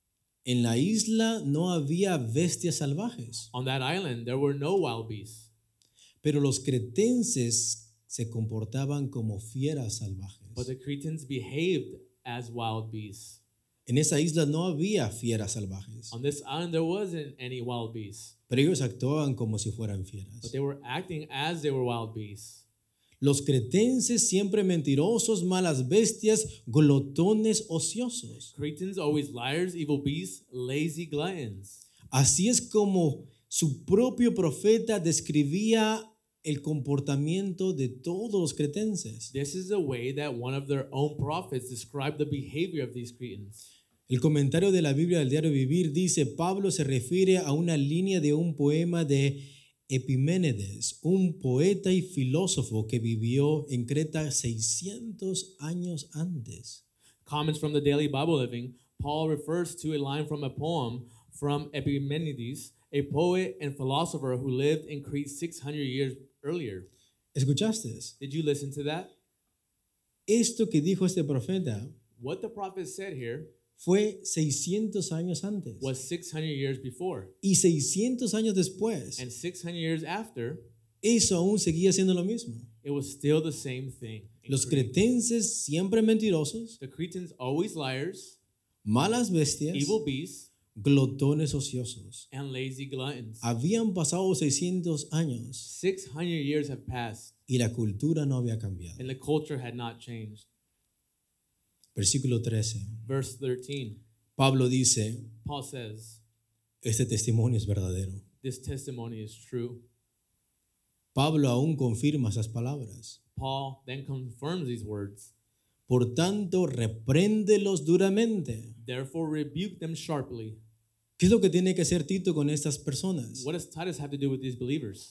En la isla no había bestias salvajes, On that island, there were no wild beasts, pero los cretenses se comportaban como fieras salvajes. but the Cretans behaved as wild beasts. En esa isla no había fieras salvajes, On this island, there wasn't any wild beasts, pero ellos actuaban como si fueran but fieras. they were acting as they were wild beasts. Los cretenses siempre mentirosos, malas bestias, glotones ociosos. Cretans always liars, evil beasts, lazy gluttons. Así es como su propio profeta describía el comportamiento de todos los cretenses. This is the way that one of their own prophets described the behavior of these Cretans. El comentario de la Biblia del Diario Vivir dice: Pablo se refiere a una línea de un poema de Epiménides, un poeta y filósofo que vivió en Creta seiscientos años antes. Comments from the Daily Bible Living, Paul refers to a line from a poem from Epimenides, a poet and philosopher who lived in Crete six hundred years earlier. ¿Escuchaste? Did you listen to that? Esto que dijo este profeta What the prophet said here fue seiscientos años antes. was six hundred years before. Y seiscientos años después, And six hundred years after, eso aún seguía siendo lo mismo. it was still the same thing. in Los Crete. cretenses siempre mentirosos, The Cretans always liars, malas bestias, evil beasts, glotones ociosos. and lazy gluttons. Habían pasado seiscientos años six hundred years have passed, y la cultura no había cambiado. and the culture had not changed. Versículo trece. Verse thirteen, Pablo dice, Paul says, este testimonio es verdadero. this testimony is true. Pablo aún confirma esas palabras. Paul then confirms these words. Por tanto, repréndelos duramente. Therefore, rebuke them sharply. ¿Qué es lo que tiene que hacer Tito con estas personas? What does Titus have to do with these believers?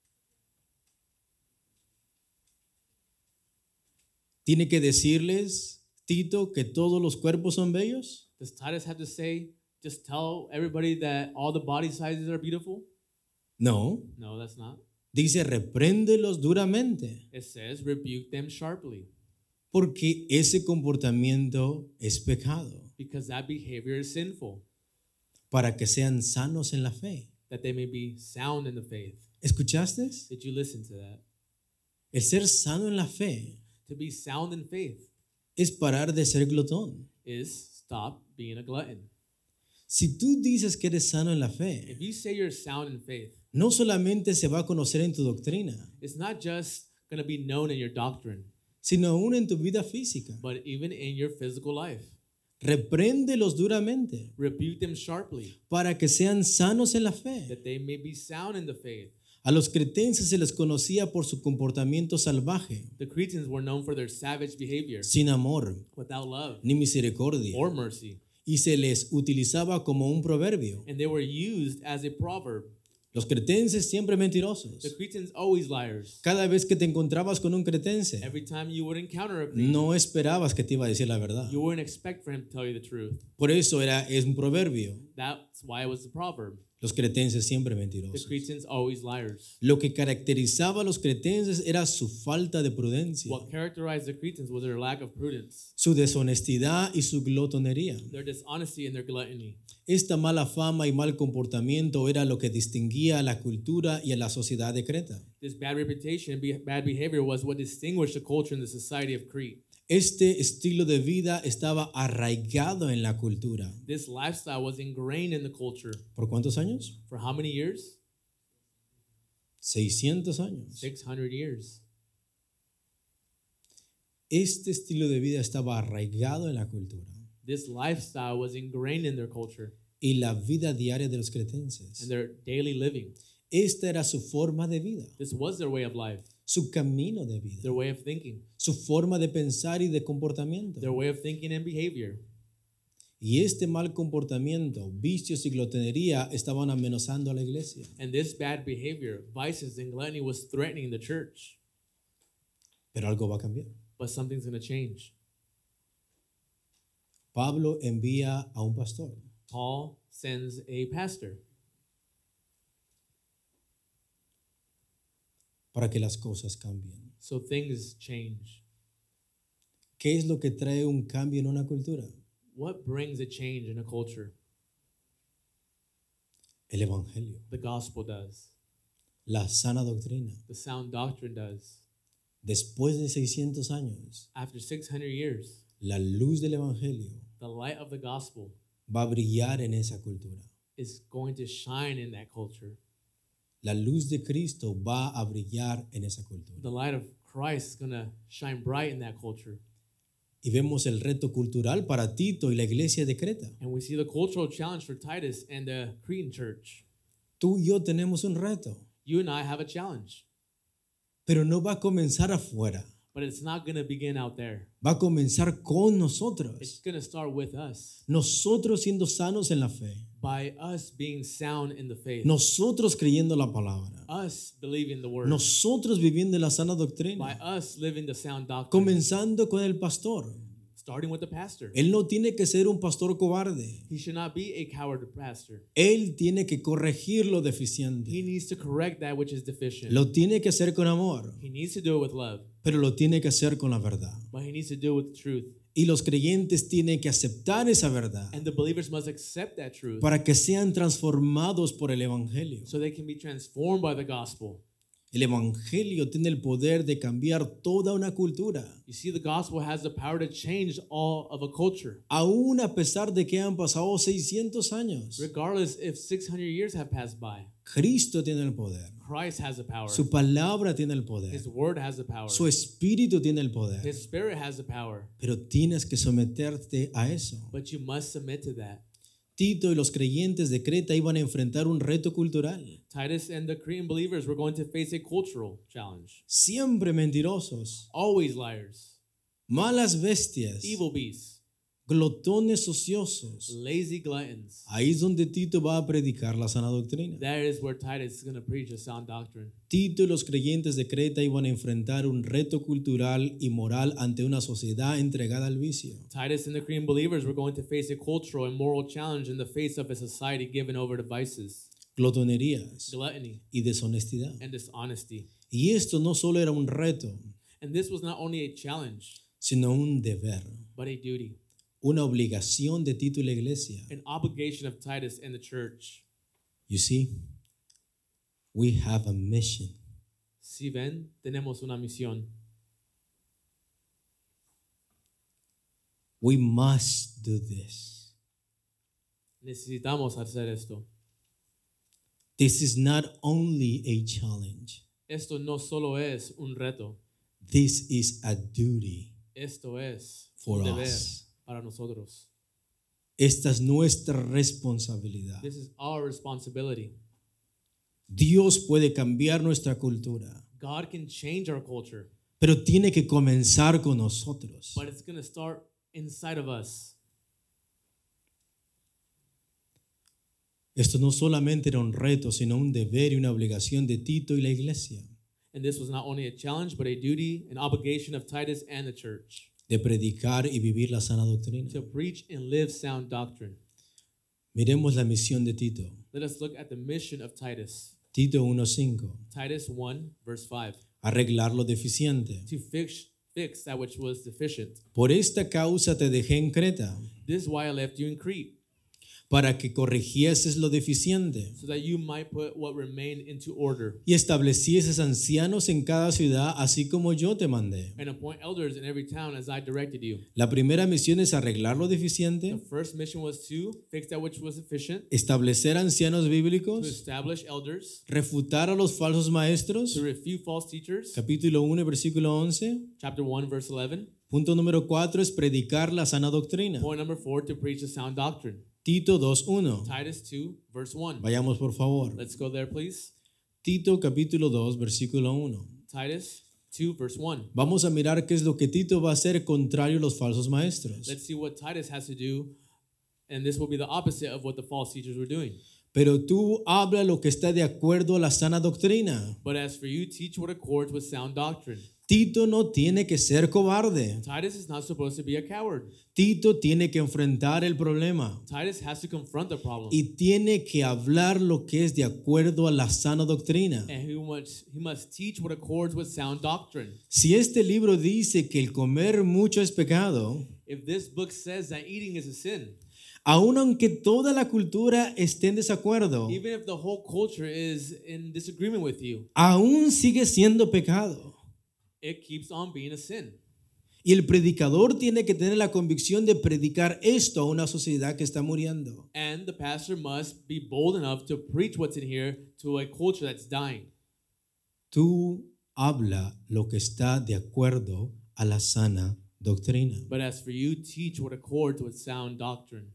¿Tiene que decirles, Tito, que todos los cuerpos son bellos? Does Titus have to say, just tell everybody that all the body sizes are beautiful? No. No, that's not. Dice, repréndelos duramente. It says, rebuke them sharply, Porque ese comportamiento es pecado. because that behavior is sinful, Para que sean sanos en la fe. that they may be sound in the faith. ¿Escuchaste? Did you listen to that? El ser sano en la fe To be sound in faith es parar de ser glotón. is stop being a glutton. Si tú dices que eres sano en la If fe, you say you're sound in faith, no solamente se va a conocer en tu doctrina, it's not just going to be known in your doctrine, sino aún en tu vida física. but even in your physical life. Repréndelos duramente Rebuke them sharply, para que sean sanos en la fe. that they may be sound in the faith. A los cretenses se les conocía por su comportamiento salvaje, The Cretans were known for their savage behavior, sin amor without love ni misericordia, or mercy, y se les utilizaba como un proverbio. and they were used as a proverb. Los cretenses siempre mentirosos. The Cretans always liars. Cada vez que te encontrabas con un cretense, Every time you would encounter a Cretan, no esperabas que te iba a decir la verdad. you wouldn't expect for him to tell you the truth. Por eso era, es un proverbio. That's why it was a proverb. Los cretenses siempre The mentirosos. Cretans always liars. Lo que caracterizaba a los cretenses era su falta de prudencia, What characterized the Cretans was their lack of prudence, su deshonestidad y su glotonería. their dishonesty and their gluttony. Esta mala fama y mal comportamiento era lo que distinguía a la cultura y a la sociedad de Creta. This bad reputation and be- bad behavior was what distinguished the culture and the society of Crete. Este estilo de vida estaba arraigado en la cultura. This lifestyle was ingrained in the culture. ¿Por cuántos años? For how many years? seiscientos años. six hundred years. Este estilo de vida estaba arraigado en la cultura This lifestyle was ingrained in their culture y la vida diaria de los and cretenses. their daily living. Esta era su forma de vida, This was their way of life, su camino de vida, their way of thinking, su forma de pensar y de comportamiento. their way of thinking and behavior. Y este mal comportamiento, vicios y glotonería estaban amenazando a la iglesia. And this bad behavior, vices and gluttony, was threatening the church. Pero algo va a cambiar. But something's going to change. Pablo envía a un pastor. Paul sends a pastor para que las cosas cambien. so things change. ¿Qué es lo que trae un cambio en una cultura? What brings a change in a culture? El evangelio, The gospel does. la sana doctrina. The sound doctrine does. Después de seiscientos años, After six hundred years, la luz del evangelio the light of the gospel va a brillar en esa cultura. is going to shine in that culture. La luz de Cristo va a brillar en esa cultura. The light of Christ is going to shine bright in that culture. Y vemos el reto cultural para Tito y la iglesia de Creta. And we see the cultural challenge for Titus and the Cretan church. Tú y yo tenemos un reto, You and I have a challenge, pero no va a comenzar afuera. but it's not going to begin out there. Va a comenzar con It's nosotros. going to start with us, Nosotros siendo sanos en la fe. by us being sound in the faith, Nosotros creyendo la palabra. us believing the word, Nosotros viviendo la sana by doctrina. us living the sound doctrine, Comenzando con el pastor. starting with the pastor. Él no tiene que ser un pastor cobarde. He should not be a coward pastor. Él tiene que corregir lo He deficiente. needs to correct that which is deficient. Lo tiene que hacer con amor, He needs to do it with love, pero lo tiene que hacer con la verdad. but he needs to do it with truth. Y los creyentes tienen que aceptar esa verdad And the believers must accept that truth para que sean transformados por el Evangelio. so they can be transformed by the gospel. El evangelio tiene el poder de cambiar toda una cultura, You see, the gospel has the power to change all of a culture, aún a pesar de que han pasado seiscientos años. regardless if six hundred years have passed by. Cristo tiene el poder, Christ has the power. su palabra tiene el poder, His word has the power. su espíritu tiene el poder, His spirit has the power. pero tienes que someterte a eso. But you must submit to that. Tito y los creyentes de Creta iban a enfrentar un reto cultural, Titus and the Cretan believers were going to face a cultural challenge. siempre mentirosos, Always liars, malas bestias, evil beasts, glotones ociosos. lazy gluttons. Ahí es donde Tito va a predicar la sana doctrina. That is where Titus is going to preach a sound doctrine. Tito y los creyentes de Creta iban a enfrentar un reto cultural y moral ante una sociedad entregada al vicio. Titus and the Cretan believers were going to face a cultural and moral challenge in the face of a society given over to vices, Glotonerías gluttony, y deshonestidad. and dishonesty. Y esto no solo era un reto, And this was not only a challenge, sino un deber, but a duty, una obligación de Tito y la iglesia. an obligation of Titus and the church. You see, we have a mission. Si ven, tenemos una misión. We must do this. Necesitamos hacer esto. This is not only a challenge. Esto no solo es un reto, This is a duty esto es for un deber us. para nosotros. Esta es nuestra responsabilidad. This is our responsibility. Dios puede cambiar nuestra cultura, God can change our culture, pero tiene que comenzar con nosotros. but it's going to start inside of us. Esto no solamente era un reto, sino un deber y una obligación de Tito y la iglesia, And this was not only a challenge, but a duty, an obligation of Titus and the church de predicar y vivir la sana doctrina. to preach and live sound doctrine. Miremos la misión de Tito. Let us look at the mission of Titus. Tito uno cinco. Titus one, verse five. Arreglar lo deficiente. To fix, fix that which was deficient. Por esta causa te dejé en Creta, This is why I left you in Crete, para que corrigieses lo deficiente so that you might put what remained into order, y establecieses ancianos en cada ciudad, así como yo te mandé. and appoint elders in every town as I directed you. La primera misión es arreglar lo The deficiente, first mission was to fix that which was deficient, establecer ancianos to bíblicos, establish elders, refutar a los falsos maestros. to refute false teachers. Capítulo uno, versículo once. Chapter one, verse eleven. Punto número cuatro es predicar la sana doctrina. Point number four, to preach a sound doctrine. Tito dos uno. Titus two, verse one. Vayamos por favor. Let's go there, please. Tito capítulo dos, versículo uno. Titus two, verse one. Vamos a mirar qué es lo que Tito va a hacer contrario a los falsos maestros. Let's see what Titus has to do, and this will be the opposite of what the false teachers were doing. Pero tú habla lo que está de acuerdo a la sana doctrina. But as for you, teach what accords with sound doctrine. Tito no tiene que ser cobarde. Titus is not supposed to be a coward. Tito tiene que enfrentar el problema Titus has to confront the problem. y tiene que hablar lo que es de acuerdo a la sana doctrina. And he must, he must teach what accords with sound doctrine. Si este libro dice que el comer mucho es pecado, If this book says that eating is a sin, aun aunque toda la cultura esté en desacuerdo, even if the whole culture is in disagreement with you, aún sigue siendo pecado. it keeps on being a sin. Y el predicador tiene que tener la convicción de predicar esto a una sociedad que está muriendo. And the pastor must be bold enough to preach what's in here to a culture that's dying. Tú habla lo que está de acuerdo a la sana doctrina. But as for you, teach what accords with sound doctrine.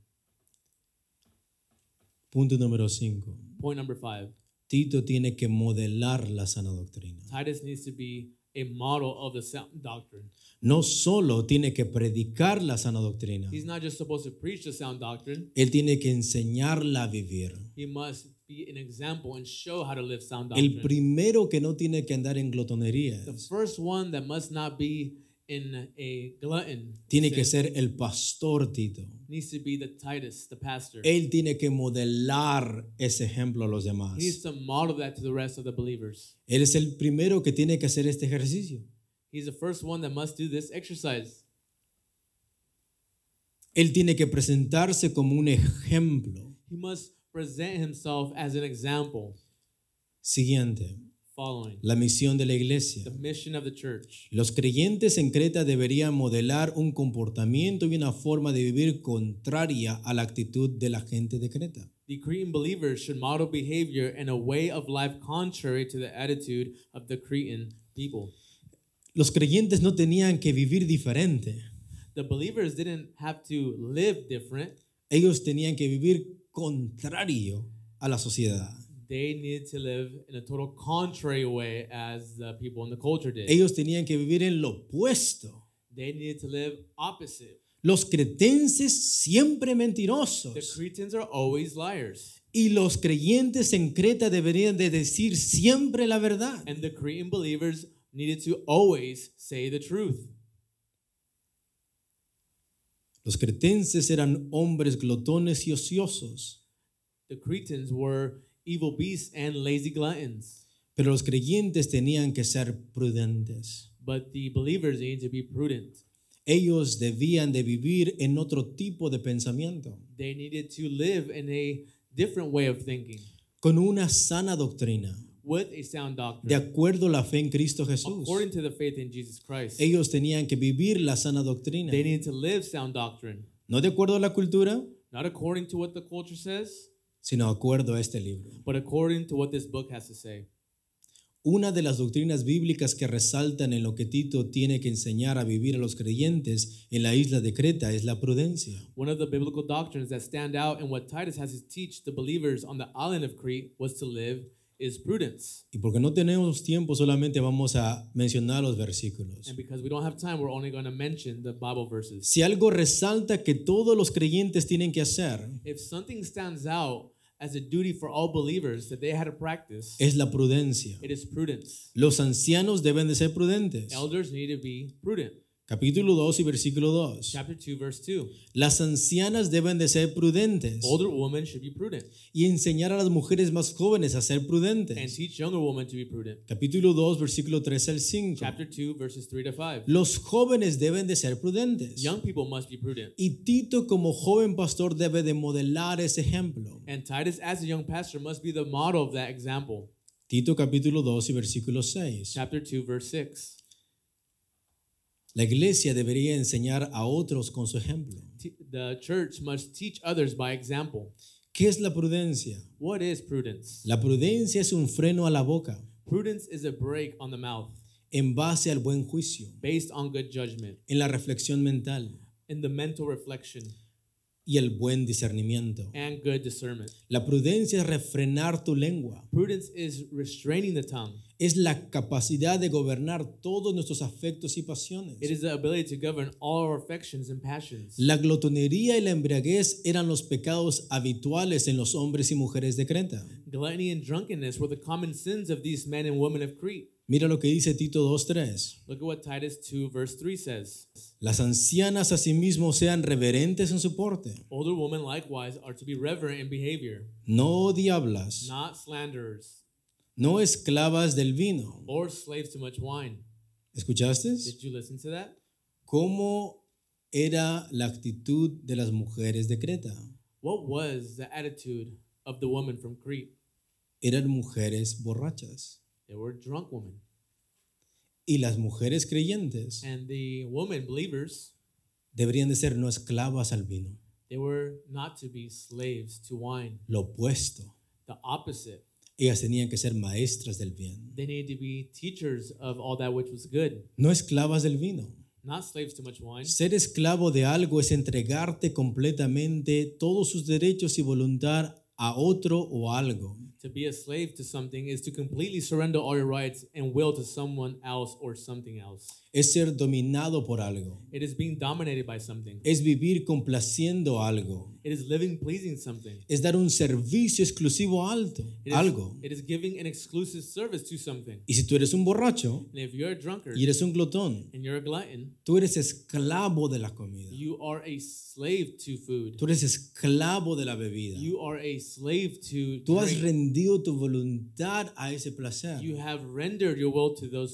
Punto número cinco. Point number five. Tito tiene que modelar la sana doctrina. Titus needs to be a model of the sound doctrine. No solo tiene que predicar la sana doctrina, He's not just supposed to preach the sound doctrine. él tiene que enseñarla a vivir. He must be an example and show how to live sound El doctrine. primero que no tiene que andar en The glotonerías, first one that must not be in a glutton tiene que sin ser el pastor Tito. needs to be the Titus, the pastor. Él tiene que modelar ese ejemplo a los demás. He needs to model that to the rest of the believers. Él es el primero que tiene que hacer este ejercicio. He's the first one that must do this exercise. Él tiene que presentarse como un ejemplo. He must present himself as an example. Siguiente. following. La misión de la iglesia. The mission of the church. Los creyentes en Creta deberían modelar un comportamiento y una forma de vivir contraria a la actitud de la gente de Creta. The Cretan believers should model behavior and a way of life contrary to the attitude of the Cretan people. Los creyentes no tenían que vivir diferente. The believers didn't have to live different. Ellos tenían que vivir contrario a la sociedad. They needed to live in a total contrary way as the people in the culture did. Ellos tenían que vivir en lo opuesto. They needed to live opposite. Los cretenses siempre The mentirosos. Cretans are always liars. Y los creyentes en Creta deberían de decir siempre la verdad. And the Cretan believers needed to always say the truth. Los cretenses eran hombres glotones y ociosos, The Cretans were evil beasts and lazy gluttons. pero los creyentes tenían que ser prudentes. But the believers needed to be prudent. Ellos debían de vivir en otro tipo de pensamiento, They needed to live in a different way of thinking con una sana doctrina, with a sound de doctrine acuerdo a la fe en Cristo Jesús. according to the faith in Jesus Christ. Ellos tenían que vivir la sana doctrina, They needed to live sound doctrine, no de acuerdo a la cultura, not according to what the culture says, sino de acuerdo a este libro. but according to what this book has to say. Una de las doctrinas bíblicas que resaltan en lo que Tito tiene que enseñar a vivir a los creyentes en la isla de Creta es la prudencia. One of the biblical doctrines that stand out and what Titus has to teach the believers on the island of Crete was to live is prudence. Y porque no tenemos tiempo, solamente vamos a mencionar los versículos. And because we don't have time, we're only going to mention the Bible verses. Si algo resalta que todos los creyentes tienen que hacer, If something stands out as a duty for all believers that they had to practice, es la prudencia. it is prudence. Los ancianos deben de ser prudentes. Elders need to be prudent. Capítulo dos y versículo dos. Chapter two, verse two. Las ancianas deben de ser prudentes Older women should be prudent y enseñar a las mujeres más jóvenes a ser and prudentes. teach younger women to be prudent. Capítulo dos, versículo tres al cinco. Chapter two, verses three to five. Los jóvenes deben de ser prudentes. Young people must be prudent. Y Tito como joven pastor debe de modelar ese ejemplo. And Titus, as a young pastor, must be the model of that example. Tito capítulo dos y versículo seis. Chapter two, verse six. La iglesia debería enseñar a otros con su ejemplo. T- The church must teach others by example. ¿Qué es la prudencia? What is prudence? La prudencia es un freno a la boca Prudence is a brake on the mouth en base al buen juicio, based on good judgment, en la reflexión mental in the mental reflection, y el buen discernimiento. and good discernment. La prudencia es refrenar tu lengua. Prudence is restraining the tongue. Es la capacidad de gobernar todos nuestros afectos y pasiones. It is the ability to govern all our affections and passions. La glotonería y la embriaguez eran los pecados habituales en los hombres y mujeres de Creta. Gluttony and drunkenness were the common sins of these men and women of Crete. Mira lo que dice Tito dos tres. Look at what Titus two, verse three says. Las ancianas asimismo sean reverentes en su porte, Older women likewise are to be reverent in behavior, no diablas, not slanderers, no esclavas del vino. or slaves to much wine. ¿Escuchaste? Did you listen to that? ¿Cómo era la actitud de las mujeres de Creta? What was the attitude of the woman from Crete? Eran mujeres borrachas. They were drunk women. Y las mujeres creyentes And the women, believers, deberían de ser no esclavas al vino. they were not to be slaves to wine. Lo opuesto. The opposite. Ellas tenían que ser maestras del bien. They needed to be teachers of all that which was good, No esclavas del vino. not slaves to much wine. Ser esclavo de algo es entregarte completamente todos sus derechos y voluntad a otro o algo. To be a slave to something is to completely surrender all your rights and will to someone else or something else. Es ser dominado por algo. It is being dominated by something. Es vivir complaciendo algo. It is living pleasing something. Es dar un servicio exclusivo a alto, It is, algo. it is giving an exclusive service to something. Y si tú eres un borracho And if you're a drunkard y eres un glotón, and you're a glutton, tú eres esclavo de la comida. you are a slave to food. Tú eres esclavo de la bebida. You are a slave to Tú has drink. rendido tu voluntad a ese placer. You have rendered your will to those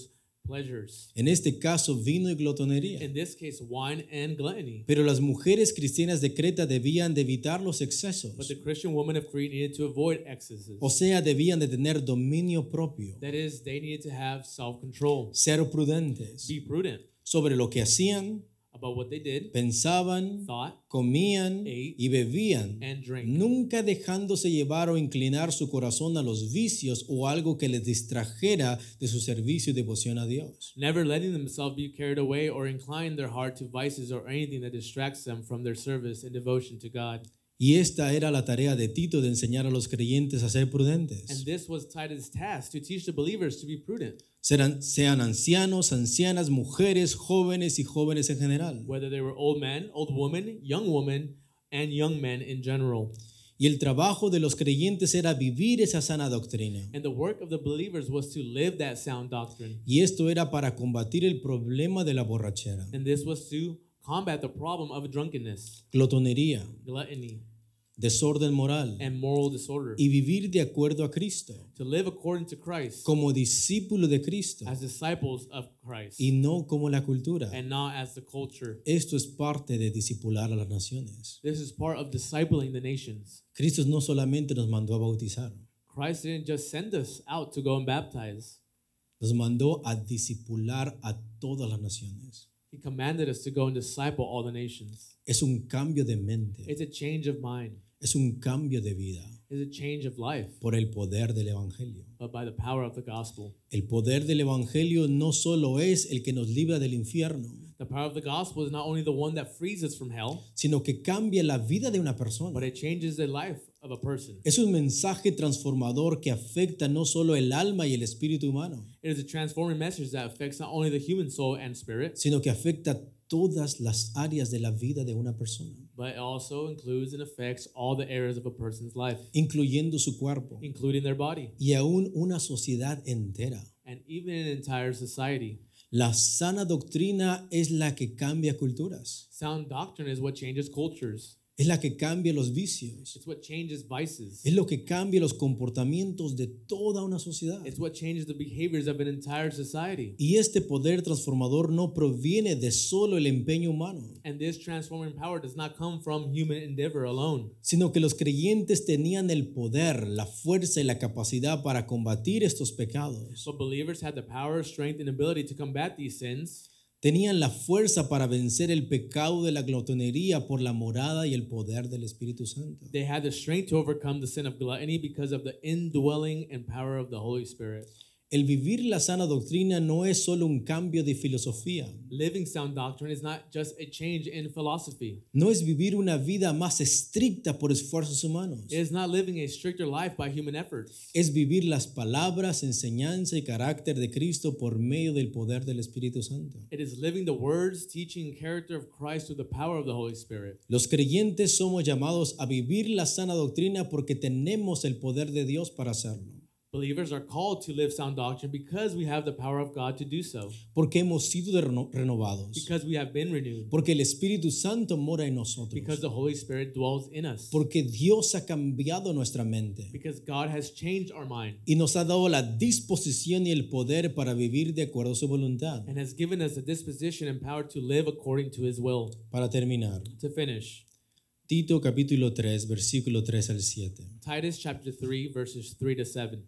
pleasures. En este caso, vino y glotonería. In this case, wine and gluttony. Pero las mujeres cristianas de Creta debían de evitar los excesos. But the Christian women of Crete needed to avoid excesses. O sea, debían de tener dominio propio, That is, they needed to have self-control. ser prudentes Be prudent sobre lo que hacían, about what they did, pensaban, thought, comían ate, y bebían, and drank. nunca dejándose llevar o inclinar su corazón a los vicios o algo que les distrajera de su servicio y devoción a Dios. Never letting themselves be carried away or incline their heart to vices or anything that distracts them from their service and devotion to God. Y esta era la tarea de Tito, de enseñar a los creyentes a ser And prudentes. this was Titus' task, to teach the believers to be prudent, Serán, sean ancianos, ancianas, mujeres, jóvenes y jóvenes en general. whether they were old men, old women, young women, and young men in general. Y el trabajo de los creyentes era vivir esa sana doctrina. And the work of the believers was to live that sound doctrine. Y esto era para combatir el problema de la borrachera, And this was to combat the problem of drunkenness, glotonería, gluttony, desorden moral and moral disorder. y vivir de acuerdo a Cristo, To live according to Christ como discípulo de Cristo as disciples of Christ y no como la cultura. and not as the culture. Esto es parte de discipular a las naciones. This is part of discipling the nations. Cristo no solamente nos mandó a bautizar, Christ didn't just send us out to go and baptize. nos mandó a discipular a todas las naciones. He commanded us to go and disciple all the nations. Es un cambio de mente, It's a change of mind. es un cambio de vida It's a change of life, por el poder del Evangelio. but by the power of the gospel. El poder del Evangelio no solo es el que nos libra del infierno, The power of the gospel is not only the one that frees us from hell, sino que cambia la vida de una but persona. it changes the life of a person. Es un mensaje transformador que afecta no solo el alma y el espíritu humano, It is a transforming message that affects not only the human soul and spirit, sino que afecta todas las áreas de la vida de una persona, but it also includes and affects all the areas of a person's life, incluyendo su cuerpo including their body y aún una sociedad entera. and even an entire society. La sana doctrina es la que cambia culturas, Sound doctrine is what changes cultures. es la que cambia los vicios, It's what changes vices. es lo que cambia los comportamientos de toda una sociedad. It's what changes the behaviors of an entire society. Y este poder transformador no proviene de solo el empeño humano, And this transforming power does not come from human endeavor alone, sino que los creyentes tenían el poder, la fuerza y la capacidad para combatir estos pecados. but believers had the power, strength, and ability to combat these sins. Tenían la fuerza para vencer el pecado de la glotonería por la morada y el poder del Espíritu Santo. They had the strength to overcome the sin of gluttony because of the indwelling and power of the Holy Spirit. El vivir la sana doctrina no es solo un cambio de filosofía, Living sound doctrine is not just a change in philosophy. no es vivir una vida más estricta por esfuerzos humanos, It is not living a stricter life by human efforts. es vivir las palabras, enseñanza y carácter de Cristo por medio del poder del Espíritu Santo. It is living the words, teaching, and character of Christ through the power of the Holy Spirit. Los creyentes somos llamados a vivir la sana doctrina porque tenemos el poder de Dios para hacerlo, Believers are called to live sound doctrine because we have the power of God to do so, porque hemos sido de reno- renovados, because we have been renewed, porque el Espíritu Santo mora en nosotros, because the Holy Spirit dwells in us, porque Dios ha cambiado nuestra mente because God has changed our mind y nos ha dado la disposición y el poder para vivir de acuerdo a su voluntad. and has given us the disposition and power to live according to His will. Para terminar, To finish, Tito capítulo tres, versículo tres al siete. Titus chapter three, verses three to seven.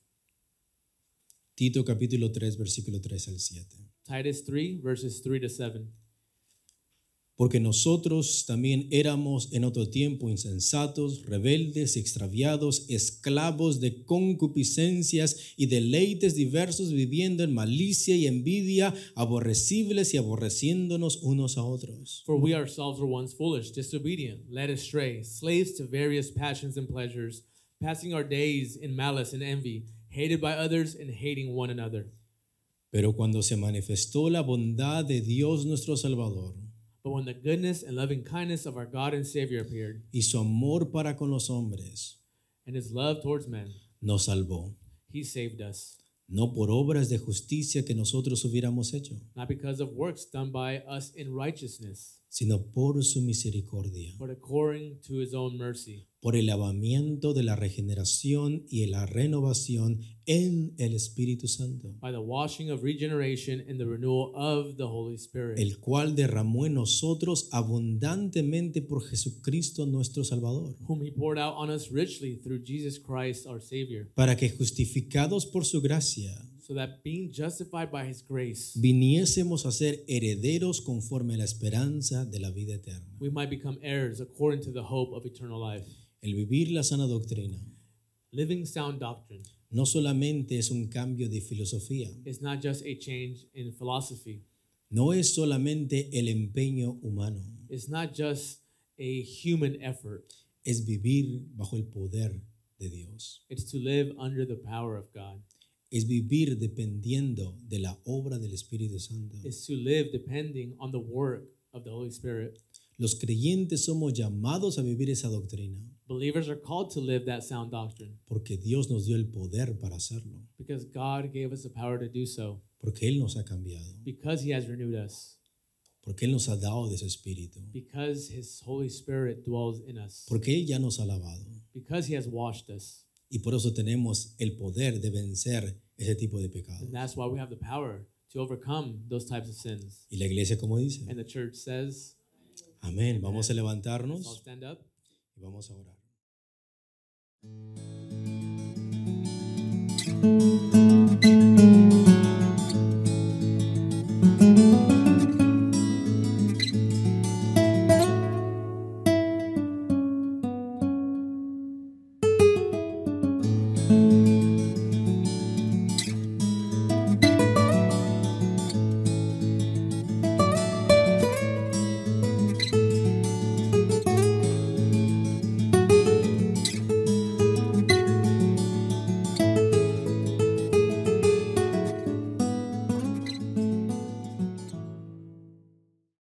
Tito capítulo tres, versículo tres al siete. Titus three, verses three to seven. Porque nosotros también éramos en otro tiempo insensatos, rebeldes, extraviados, esclavos de concupiscencias y deleites diversos, viviendo en malicia y envidia, aborrecibles y aborreciéndonos unos a otros. For we ourselves were once foolish, disobedient, led astray, slaves to various passions and pleasures, passing our days in malice and envy, hated by others and hating one another. Pero cuando se manifestó la bondad de Dios nuestro Salvador But when the goodness and loving kindness of our God and Savior appeared, y su amor para con los hombres, and His love towards men, nos salvó, He saved us, no por obras de justicia que nosotros hubiéramos hecho, not because of works done by us in righteousness, sino por su misericordia, but according to His own mercy, por el lavamiento de la regeneración y la renovación en el Espíritu Santo, by the washing of regeneration and the renewal of the Holy Spirit, el cual derramó en nosotros abundantemente por Jesucristo nuestro Salvador, whom he poured out on us richly through Jesus Christ our Savior, para que justificados por su gracia, so that being justified by his grace, viniésemos a ser herederos conforme a la esperanza de la vida eterna. we might become heirs according to the hope of eternal life. El vivir la sana doctrina Living sound doctrine no solamente es un cambio de filosofía, is not just a change in philosophy. no es solamente el empeño humano, It's not just a human effort. es vivir bajo el poder de Dios, It's to live under the power of God. es vivir dependiendo de la obra del Espíritu Santo. It's to live depending on the work of the Holy Spirit. Los creyentes somos llamados a vivir esa doctrina Believers are called to live that sound doctrine porque Dios nos dio el poder para hacerlo, because God gave us the power to do so, porque Él nos ha cambiado, because he has renewed us, porque Él nos ha dado de su Espíritu, because his Holy Spirit dwells in us, porque Él ya nos ha lavado. because he has washed us. Y por eso tenemos el poder de vencer ese tipo de pecados. And that's why we have the power to overcome those types of sins. Y la iglesia, como dice, And the church says, amén. Vamos a let's all levantarnos stand up. y vamos a orar.